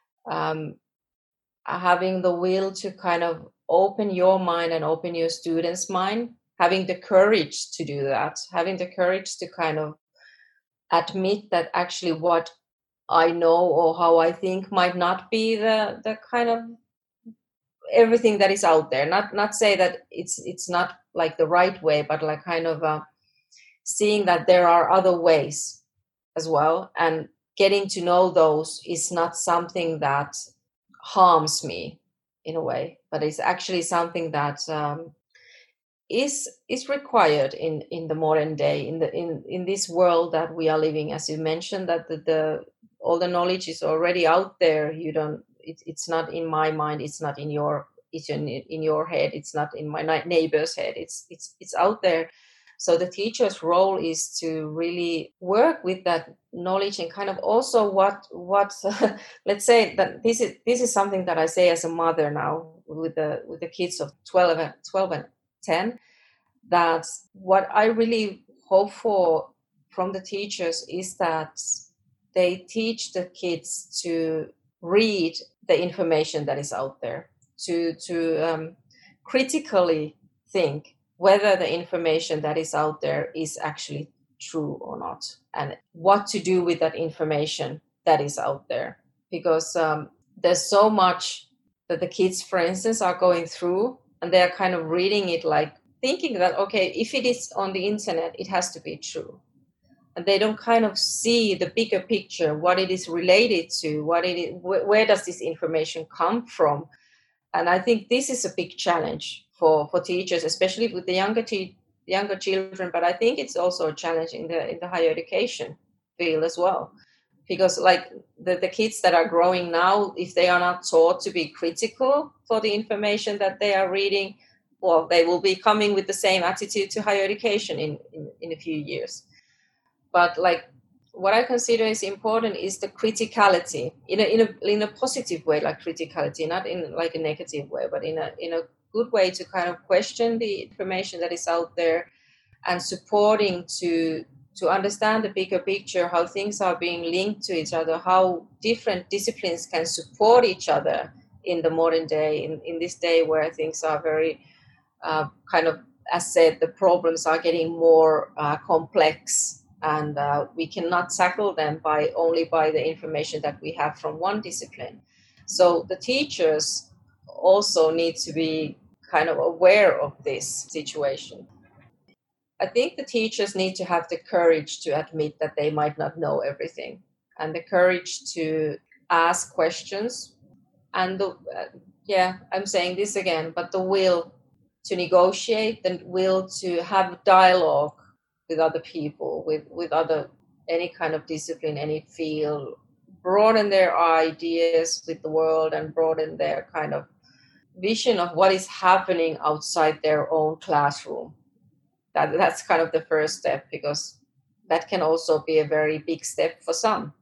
having the will to kind of open your mind and open your students' mind, having the courage to do that, having the courage to kind of admit that actually what I know or how I think might not be the kind of everything that is out there. Not say that it's not like the right way, but like kind of seeing that there are other ways as well, and getting to know those is not something that harms me in a way, but it's actually something that is required in the modern day, in this world that we are living. As you mentioned, that the all the knowledge is already out there. It's not in my mind, it's not in your head, it's not in my neighbor's head, it's out there. So the teacher's role is to really work with that knowledge and kind of also what let's say that this is something that I say as a mother now with the kids of 12 and 10, that what I really hope for from the teachers is that they teach the kids to read the information that is out there, to critically think whether the information that is out there is actually true or not, and what to do with that information that is out there. Because there's so much that the kids, for instance, are going through, and they're kind of reading it like thinking that, okay, if it is on the internet, it has to be true. And they don't kind of see the bigger picture, what it is related to, where does this information come from. And I think this is a big challenge for teachers, especially with the younger children. But I think it's also a challenge in the higher education field as well, because like the kids that are growing now, if they are not taught to be critical for the information that they are reading, well, they will be coming with the same attitude to higher education in a few years. But like what I consider is important is the criticality in a positive way, like criticality, not in like a negative way, but in a good way to kind of question the information that is out there and supporting to understand the bigger picture, how things are being linked to each other, how different disciplines can support each other in the modern day, in this day where things are very kind of, as said, the problems are getting more complex, and we cannot tackle them only by the information that we have from one discipline. So the teachers also need to be kind of aware of this situation. I think the teachers need to have the courage to admit that they might not know everything, and the courage to ask questions, and I'm saying this again, but the will to negotiate, the will to have dialogue with other people, with other, any kind of discipline, any field, broaden their ideas with the world and broaden their kind of vision of what is happening outside their own classroom. That's kind of the first step, because that can also be a very big step for some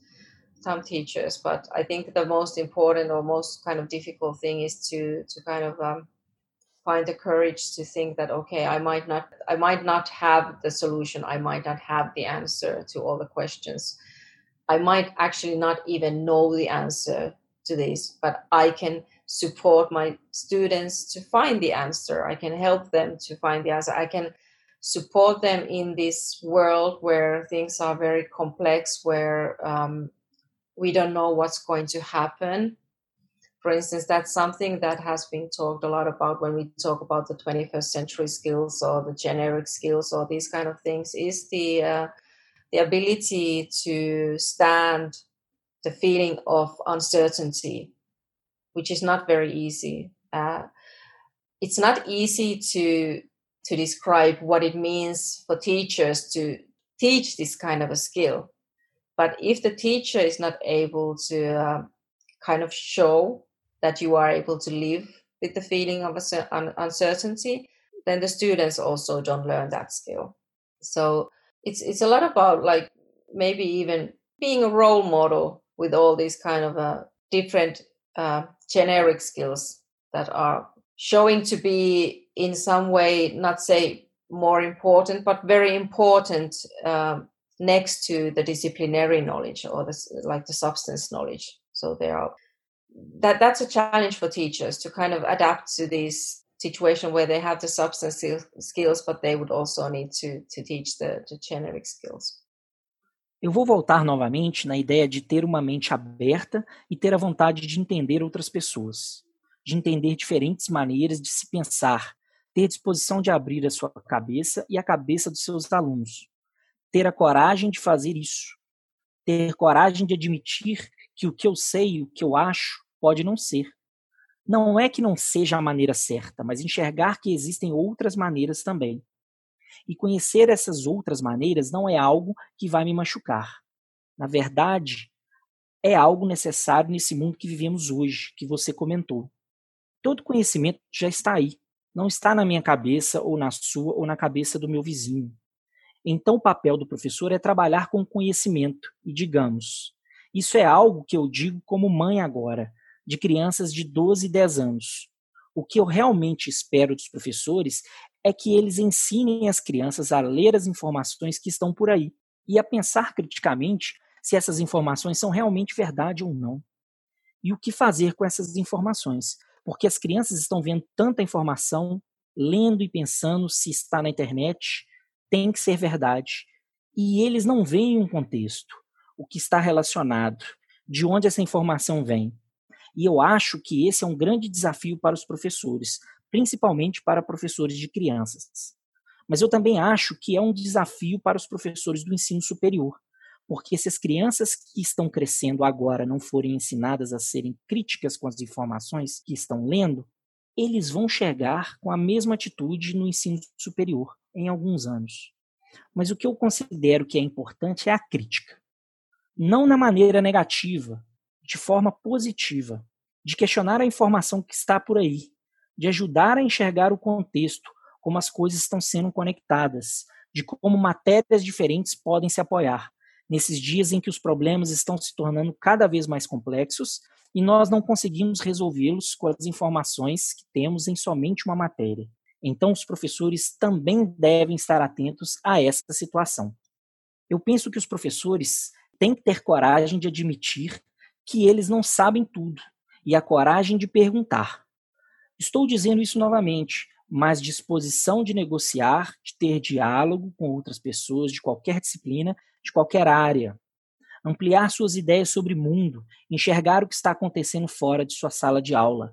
teachers. But I think the most important or most kind of difficult thing is to kind of find the courage to think that, okay, I might not have the solution, I might not have the answer to all the questions, I might actually not even know the answer to this, but I can support my students to find the answer. I can help them to find the answer. I can support them in this world where things are very complex, where we don't know what's going to happen. For instance, that's something that has been talked a lot about when we talk about the 21st century skills or the generic skills or these kind of things, is the ability to stand the feeling of uncertainty, which is not very easy. It's not easy to describe what it means for teachers to teach this kind of a skill. But if the teacher is not able to kind of show that you are able to live with the feeling of uncertainty, then the students also don't learn that skill. So it's a lot about, like, maybe even being a role model with all these kind of different generic skills that are showing to be in some way, not say more important, but very important next to the disciplinary knowledge or the substance knowledge. So that's a challenge for teachers to kind of adapt to this situation where they have the substance skills, but they would also need to teach the generic skills. Eu vou voltar novamente na ideia de ter uma mente aberta e ter a vontade de entender outras pessoas, de entender diferentes maneiras de se pensar, ter disposição de abrir a sua cabeça e a cabeça dos seus alunos, ter a coragem de fazer isso, ter coragem de admitir que o que eu sei, o que eu acho, pode não ser. Não é que não seja a maneira certa, mas enxergar que existem outras maneiras também. E conhecer essas outras maneiras não é algo que vai me machucar. Na verdade, é algo necessário nesse mundo que vivemos hoje, que você comentou. Todo conhecimento já está aí, não está na minha cabeça ou na sua ou na cabeça do meu vizinho. Então o papel do professor é trabalhar com o conhecimento e, digamos, isso é algo que eu digo como mãe agora, de crianças de 12 e 10 anos. O que eu realmente espero dos professores é que eles ensinem as crianças a ler as informações que estão por aí e a pensar criticamente se essas informações são realmente verdade ou não. E o que fazer com essas informações? Porque as crianças estão vendo tanta informação, lendo e pensando se está na internet, tem que ser verdade. E eles não veem um contexto, o que está relacionado, de onde essa informação vem. E eu acho que esse é um grande desafio para os professores, principalmente para professores de crianças. Mas eu também acho que é um desafio para os professores do ensino superior, porque se as crianças que estão crescendo agora não forem ensinadas a serem críticas com as informações que estão lendo, eles vão chegar com a mesma atitude no ensino superior em alguns anos. Mas o que eu considero que é importante é a crítica. Não na maneira negativa, de forma positiva, de questionar a informação que está por aí, de ajudar a enxergar o contexto, como as coisas estão sendo conectadas, de como matérias diferentes podem se apoiar, nesses dias em que os problemas estão se tornando cada vez mais complexos e nós não conseguimos resolvê-los com as informações que temos em somente uma matéria. Então, os professores também devem estar atentos a essa situação. Eu penso que os professores têm que ter coragem de admitir que eles não sabem tudo e a coragem de perguntar. Estou dizendo isso novamente, mas disposição de negociar, de ter diálogo com outras pessoas de qualquer disciplina, de qualquer área. Ampliar suas ideias sobre o mundo, enxergar o que está acontecendo fora de sua sala de aula.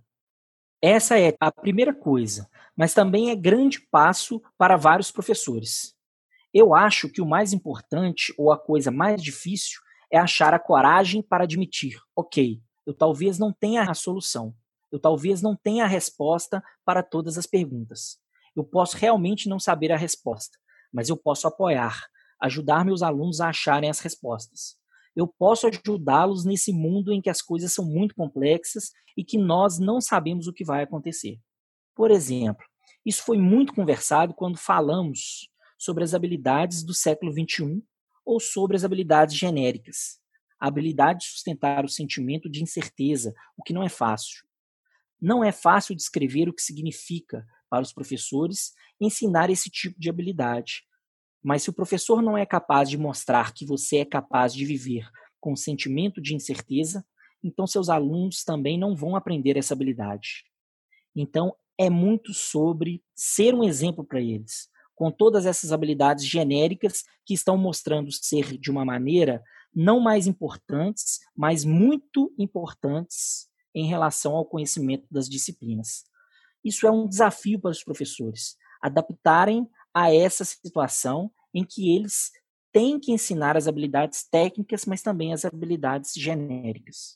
Essa é a primeira coisa, mas também é grande passo para vários professores. Eu acho que o mais importante, ou a coisa mais difícil, é achar a coragem para admitir, ok, eu talvez não tenha a solução, eu talvez não tenha a resposta para todas as perguntas. Eu posso realmente não saber a resposta, mas eu posso apoiar, ajudar meus alunos a acharem as respostas. Eu posso ajudá-los nesse mundo em que as coisas são muito complexas e que nós não sabemos o que vai acontecer. Por exemplo, isso foi muito conversado quando falamos sobre as habilidades do século XXI ou sobre as habilidades genéricas. A habilidade de sustentar o sentimento de incerteza, o que não é fácil. Não é fácil descrever o que significa para os professores ensinar esse tipo de habilidade. Mas se o professor não é capaz de mostrar que você é capaz de viver com o sentimento de incerteza, então seus alunos também não vão aprender essa habilidade. Então, é muito sobre ser um exemplo para eles, com todas essas habilidades genéricas que estão mostrando ser de uma maneira não mais importantes, mas muito importantes em relação ao conhecimento das disciplinas. Isso é um desafio para os professores, adaptarem a essa situação em que eles têm que ensinar as habilidades técnicas, mas também as habilidades genéricas.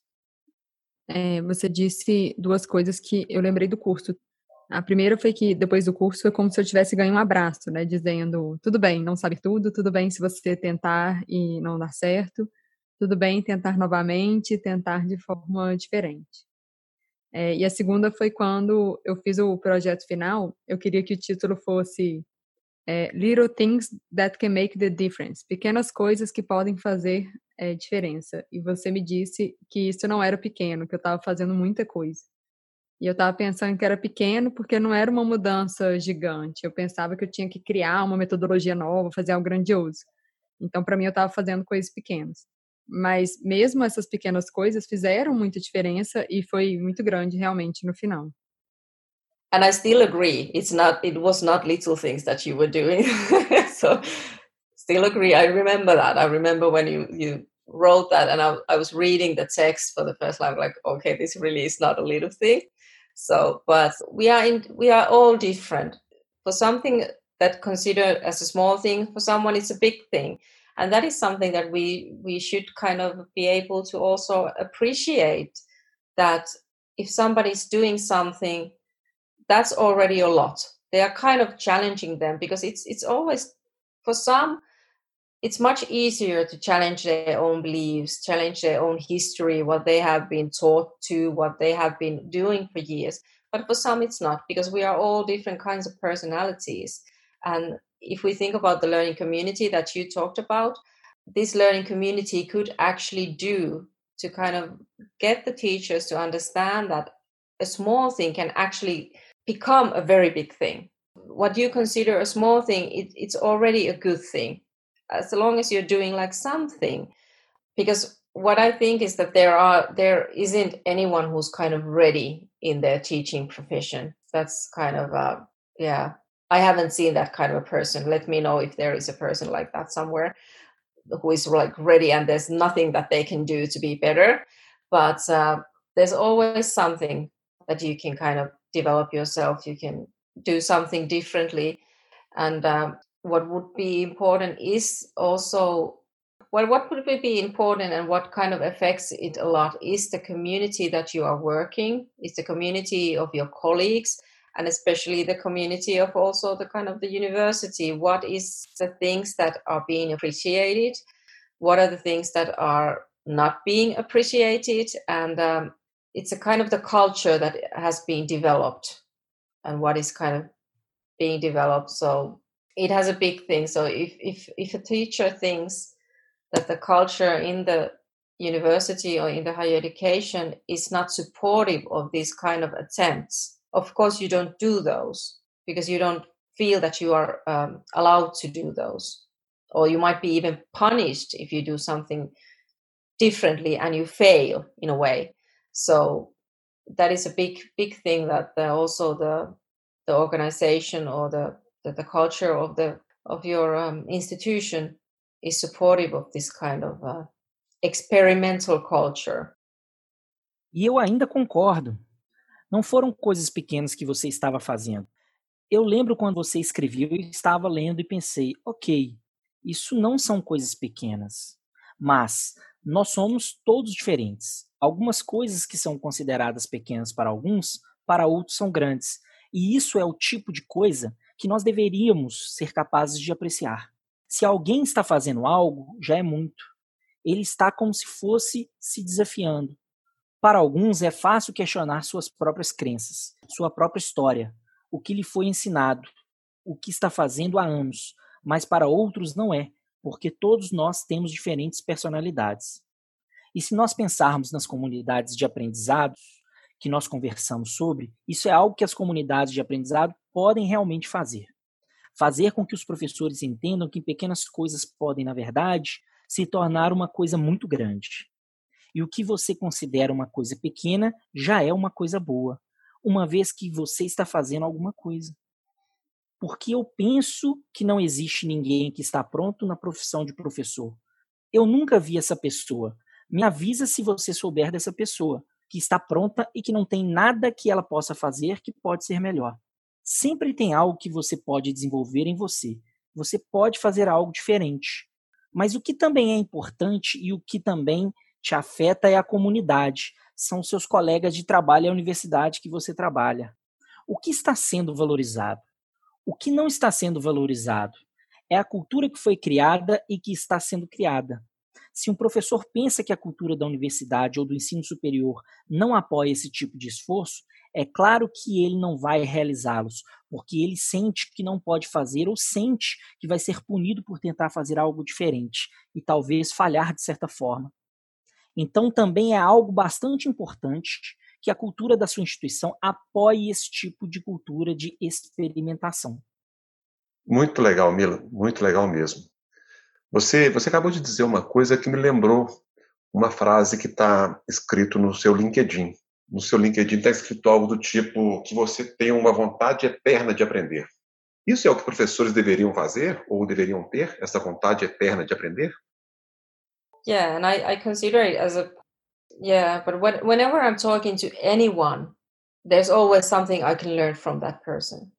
Você disse duas coisas que eu lembrei do curso. A primeira foi que depois do curso foi como se eu tivesse ganho um abraço, né? Dizendo, tudo bem, não sabe tudo bem se você tentar e não dar certo, tudo bem tentar novamente, tentar de forma diferente. E a segunda foi quando eu fiz o projeto final, eu queria que o título fosse Little Things That Can Make the Difference, pequenas coisas que podem fazer diferença. E você me disse que isso não era pequeno, que eu estava fazendo muita coisa. E eu estava pensando que era pequeno porque não era uma mudança gigante. Eu pensava que eu tinha que criar uma metodologia nova, fazer algo grandioso. Então, para mim, eu estava fazendo coisas pequenas. Mas mesmo essas pequenas coisas fizeram muita diferença e foi muito grande realmente no final. And I still agree. It was not little things that you were doing. So still agree. I remember that. I remember when you wrote that and I was reading the text for the first time, like, okay, this really is not a little thing. So, but we are all different. For something that considered as a small thing, for someone it's a big thing. And that is something that we should kind of be able to also appreciate, that if somebody's doing something, that's already a lot. They are kind of challenging them, because it's always, for some, it's much easier to challenge their own beliefs, challenge their own history, what they have been taught to, what they have been doing for years. But for some, it's not, because we are all different kinds of personalities. And if we think about the learning community that you talked about, this learning community could actually do to kind of get the teachers to understand that a small thing can actually become a very big thing. What you consider a small thing, it's already a good thing, as long as you're doing like something. Because what I think is that there isn't anyone who's kind of ready in their teaching profession. That's kind of I haven't seen that kind of a person. Let me know if there is a person like that somewhere who is like ready and there's nothing that they can do to be better. But there's always something that you can kind of develop yourself. You can do something differently. And what would be important is also, what would be important and what kind of affects it a lot is the community that you are working, is the community of your colleagues, and especially the community of also the kind of the university. What is the things that are being appreciated? What are the things that are not being appreciated? And it's a kind of the culture that has been developed and what is kind of being developed. So it has a big thing. So if a teacher thinks that the culture in the university or in the higher education is not supportive of these kind of attempts. Of course, you don't do those because you don't feel that you are allowed to do those, or you might be even punished if you do something differently and you fail in a way. So that is a big thing, that also the organization or the culture of your institution is supportive of this kind of experimental culture. E eu ainda concordo. Não foram coisas pequenas que você estava fazendo. Eu lembro quando você escreveu e estava lendo e pensei, ok, isso não são coisas pequenas. Mas nós somos todos diferentes. Algumas coisas que são consideradas pequenas para alguns, para outros são grandes. E isso é o tipo de coisa que nós deveríamos ser capazes de apreciar. Se alguém está fazendo algo, já é muito. Ele está como se fosse se desafiando. Para alguns é fácil questionar suas próprias crenças, sua própria história, o que lhe foi ensinado, o que está fazendo há anos, mas para outros não é, porque todos nós temos diferentes personalidades. E se nós pensarmos nas comunidades de aprendizados que nós conversamos sobre, isso é algo que as comunidades de aprendizado podem realmente fazer. Fazer com que os professores entendam que pequenas coisas podem, na verdade, se tornar uma coisa muito grande. E o que você considera uma coisa pequena já é uma coisa boa, uma vez que você está fazendo alguma coisa. Porque eu penso que não existe ninguém que está pronto na profissão de professor. Eu nunca vi essa pessoa. Me avisa se você souber dessa pessoa, que está pronta e que não tem nada que ela possa fazer que pode ser melhor. Sempre tem algo que você pode desenvolver em você. Você pode fazer algo diferente. Mas o que também é importante e o que também te afeta é a comunidade. São seus colegas de trabalho e a universidade que você trabalha. O que está sendo valorizado? O que não está sendo valorizado? É a cultura que foi criada e que está sendo criada. Se um professor pensa que a cultura da universidade ou do ensino superior não apoia esse tipo de esforço, é claro que ele não vai realizá-los, porque ele sente que não pode fazer ou sente que vai ser punido por tentar fazer algo diferente e talvez falhar de certa forma. Então, também é algo bastante importante que a cultura da sua instituição apoie esse tipo de cultura de experimentação. Muito legal, Mila, muito legal mesmo. Você acabou de dizer uma coisa que me lembrou uma frase que está escrito no seu LinkedIn. No seu LinkedIn está escrito algo do tipo que você tem uma vontade eterna de aprender. Isso é o que professores deveriam fazer ou deveriam ter, essa vontade eterna de aprender? Yeah, and I consider it as but whenever I'm talking to anyone, there's always something I can learn from that person.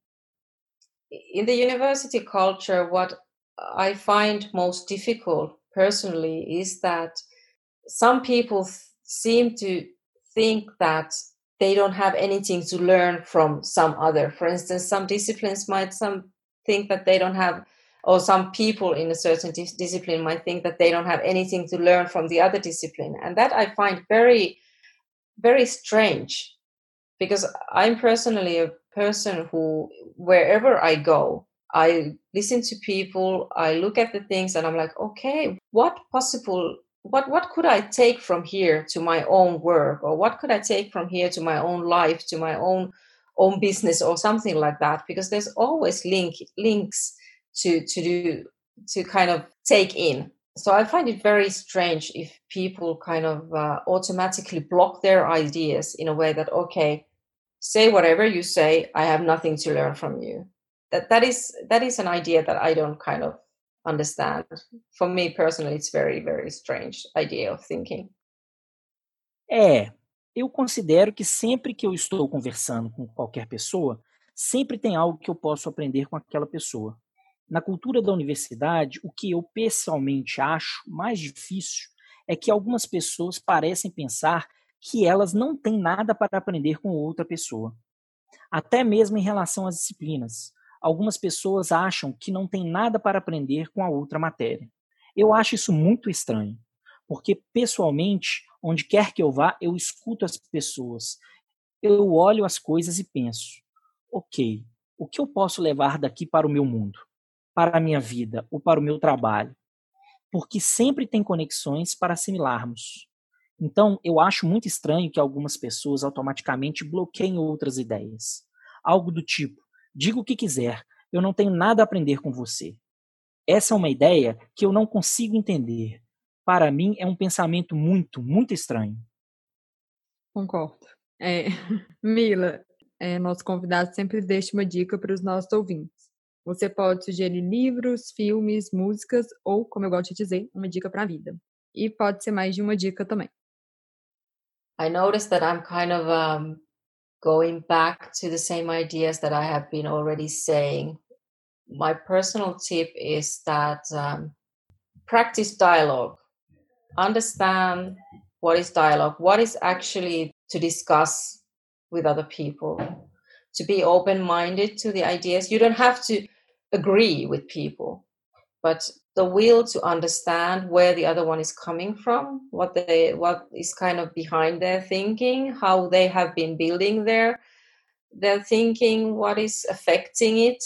In the university culture, what I find most difficult personally is that some people seem to think that they don't have anything to learn from some other. For instance, some disciplines might think that they don't have, or some people in a certain discipline might think that they don't have anything to learn from the other discipline. And that I find very, very strange, because I'm personally a person who, wherever I go, I listen to people, I look at the things, and I'm like, okay, what could I take from here to my own work, or what could I take from here to my own life, to my own business, or something like that? Because there's always links to kind of take in. So I find it very strange if people kind of automatically block their ideas in a way that, okay, say whatever you say, I have nothing to learn from you. That is an idea that I don't kind of understand. For me personally, it's very, very strange idea of thinking. Eu considero que sempre que eu estou conversando com qualquer pessoa, sempre tem algo que eu posso aprender com aquela pessoa. Na cultura da universidade, o que eu pessoalmente acho mais difícil é que algumas pessoas parecem pensar que elas não têm nada para aprender com outra pessoa. Até mesmo em relação às disciplinas. Algumas pessoas acham que não tem nada para aprender com a outra matéria. Eu acho isso muito estranho, porque pessoalmente, onde quer que eu vá, eu escuto as pessoas. Eu olho as coisas e penso, ok, o que eu posso levar daqui para o meu mundo, para a minha vida ou para o meu trabalho? porque sempre tem conexões para assimilarmos. Então, eu acho muito estranho que algumas pessoas automaticamente bloqueiem outras ideias. Algo do tipo, diga o que quiser, eu não tenho nada a aprender com você. Essa é uma ideia que eu não consigo entender. Para mim, é um pensamento muito, muito estranho. Concordo. Mila, nosso convidado sempre deixa uma dica para os nossos ouvintes. Você pode sugerir livros, filmes, músicas ou, como eu gosto de dizer, uma dica para a vida. E pode ser mais de uma dica também. I noticed that I'm kind of going back to the same ideas that I have been already saying. My personal tip is that practice dialogue. Understand what is dialogue, what is actually to discuss with other people, to be open-minded to the ideas. You don't have to agree with people, but the will to understand where the other one is coming from, what is kind of behind their thinking, how they have been building their thinking, what is affecting it.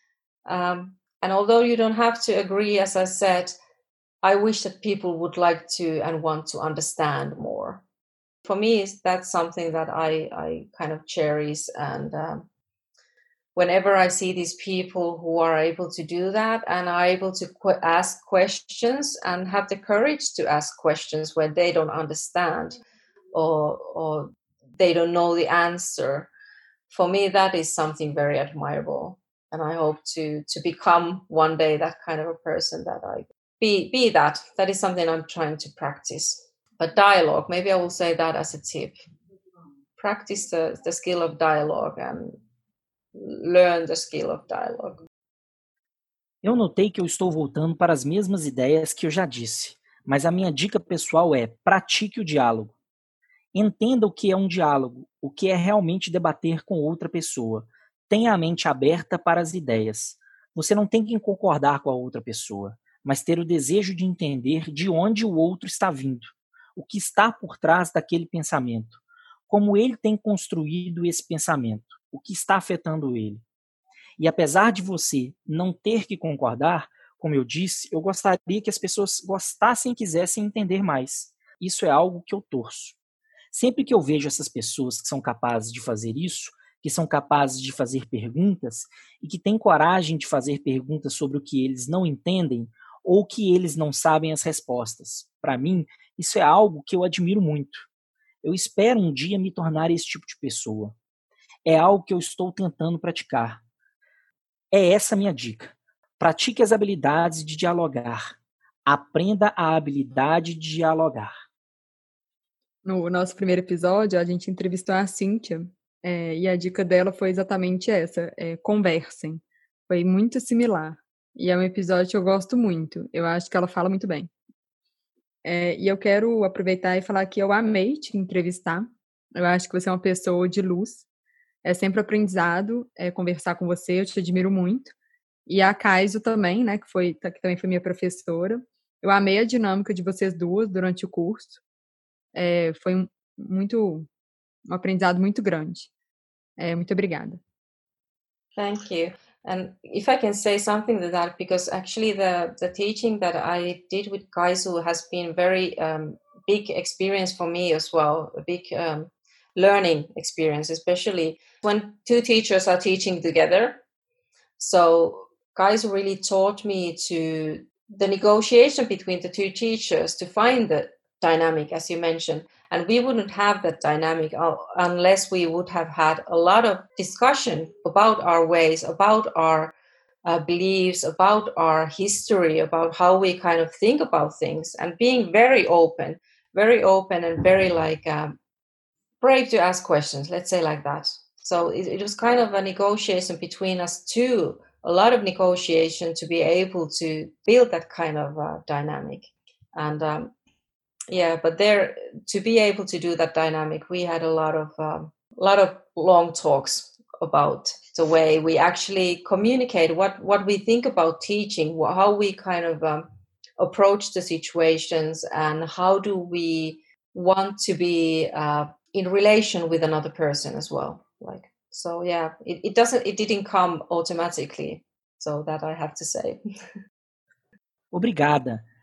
And although you don't have to agree, as I said, I wish that people would like to and want to understand more. For me, that's something that I kind of cherish. And whenever I see these people who are able to do that and are able to ask questions and have the courage to ask questions when they don't understand or they don't know the answer, for me, that is something very admirable. And I hope to become one day that kind of a person that I be that. That is something I'm trying to practice. But dialogue, maybe I will say that as a tip. Practice the skill of dialogue and learn the skill of dialogue. Eu notei que eu estou voltando para as mesmas ideias que eu já disse, mas a minha dica pessoal é: pratique o diálogo. Entenda o que é um diálogo, o que é realmente debater com outra pessoa. Tenha a mente aberta para as ideias. Você não tem que concordar com a outra pessoa, mas ter o desejo de entender de onde o outro está vindo, o que está por trás daquele pensamento, como ele tem construído esse pensamento, o que está afetando ele. E apesar de você não ter que concordar, como eu disse, eu gostaria que as pessoas gostassem e quisessem entender mais. Isso é algo que eu torço. Sempre que eu vejo essas pessoas que são capazes de fazer isso, que são capazes de fazer perguntas e que têm coragem de fazer perguntas sobre o que eles não entendem ou que eles não sabem as respostas, para mim, isso é algo que eu admiro muito. Eu espero um dia me tornar esse tipo de pessoa. É algo que eu estou tentando praticar. É essa a minha dica. Pratique as habilidades de dialogar. Aprenda a habilidade de dialogar. No nosso primeiro episódio, a gente entrevistou a Cíntia, e a dica dela foi exatamente essa, conversem. Foi muito similar. E é um episódio que eu gosto muito. Eu acho que ela fala muito bem. E eu quero aproveitar e falar que eu amei te entrevistar. Eu acho que você é uma pessoa de luz. É sempre aprendizado conversar com você, eu te admiro muito. E a Kaiso também, né, que também foi minha professora. Eu amei a dinâmica de vocês duas durante o curso. Foi um aprendizado muito grande. Muito obrigada. Thank you. And if I can say something to that, because actually the teaching that I did with Kaisu has been very big experience for me as well, a big learning experience, especially when two teachers are teaching together. So Kaisu really taught me to the negotiation between the two teachers to find the dynamic, as you mentioned. And we wouldn't have that dynamic unless we would have had a lot of discussion about our ways, about our beliefs, about our history, about how we kind of think about things, and being very open and very brave to ask questions, let's say like that. So it was kind of a negotiation between us two, a lot of negotiation to be able to build that kind of dynamic. And but there, to be able to do that dynamic, we had a lot of long talks about the way we actually communicate what we think about teaching, how we kind of approach the situations, and how do we want to be in relation with another person as well. It didn't come automatically, so that I have to say. Obrigada.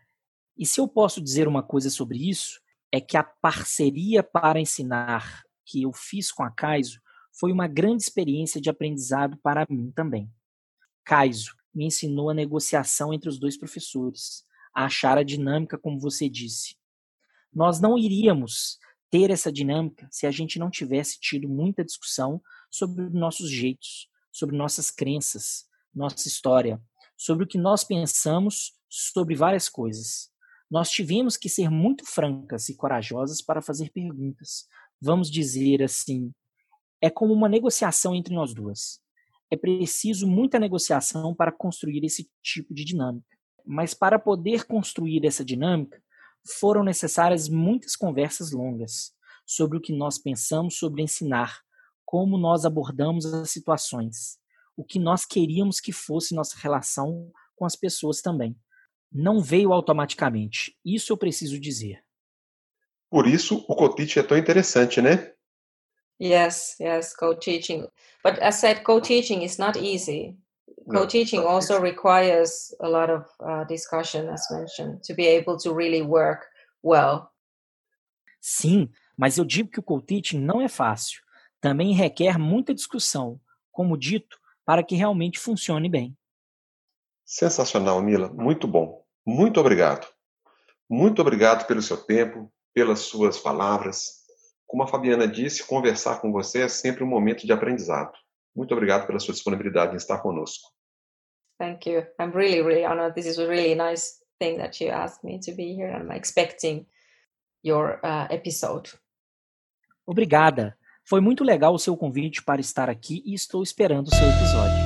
E se eu posso dizer uma coisa sobre isso, é que a parceria para ensinar que eu fiz com a Kaizo foi uma grande experiência de aprendizado para mim também. Kaizo me ensinou a negociação entre os dois professores, a achar a dinâmica como você disse. Nós não iríamos ter essa dinâmica se a gente não tivesse tido muita discussão sobre nossos jeitos, sobre nossas crenças, nossa história, sobre o que nós pensamos sobre várias coisas. Nós tivemos que ser muito francas e corajosas para fazer perguntas. Vamos dizer assim, é como uma negociação entre nós duas. É preciso muita negociação para construir esse tipo de dinâmica. Mas para poder construir essa dinâmica, foram necessárias muitas conversas longas sobre o que nós pensamos sobre ensinar, como nós abordamos as situações, o que nós queríamos que fosse nossa relação com as pessoas também. Não veio automaticamente, isso eu preciso dizer. Por isso, o co-teaching é tão interessante, né? Yes, co-teaching. But as said, co-teaching is not easy. Co-teaching also requires a lot of discussion, as mentioned, to be able to really work well. Sim, mas eu digo que o co-teaching não é fácil. Também requer muita discussão, como dito, para que realmente funcione bem. Sensacional, Mila. Muito bom. Muito obrigado. Muito obrigado pelo seu tempo, pelas suas palavras. Como a Fabiana disse, conversar com você é sempre um momento de aprendizado. Muito obrigado pela sua disponibilidade em estar conosco. Thank you. I'm really, really honored. This is a really nice thing that you asked me to be here. I'm expecting your episode. Obrigada. Foi muito legal o seu convite para estar aqui e estou esperando o seu episódio.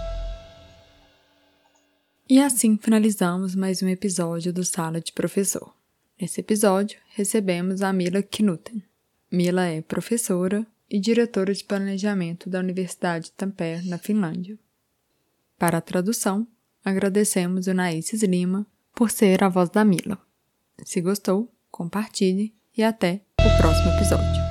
E assim finalizamos mais um episódio do Sala de Professor. Nesse episódio, recebemos a Mila Knuten. Mila é professora e diretora de planejamento da Universidade de Tampere, na Finlândia. Para a tradução, agradecemos o Naíces Lima por ser a voz da Mila. Se gostou, compartilhe e até o próximo episódio.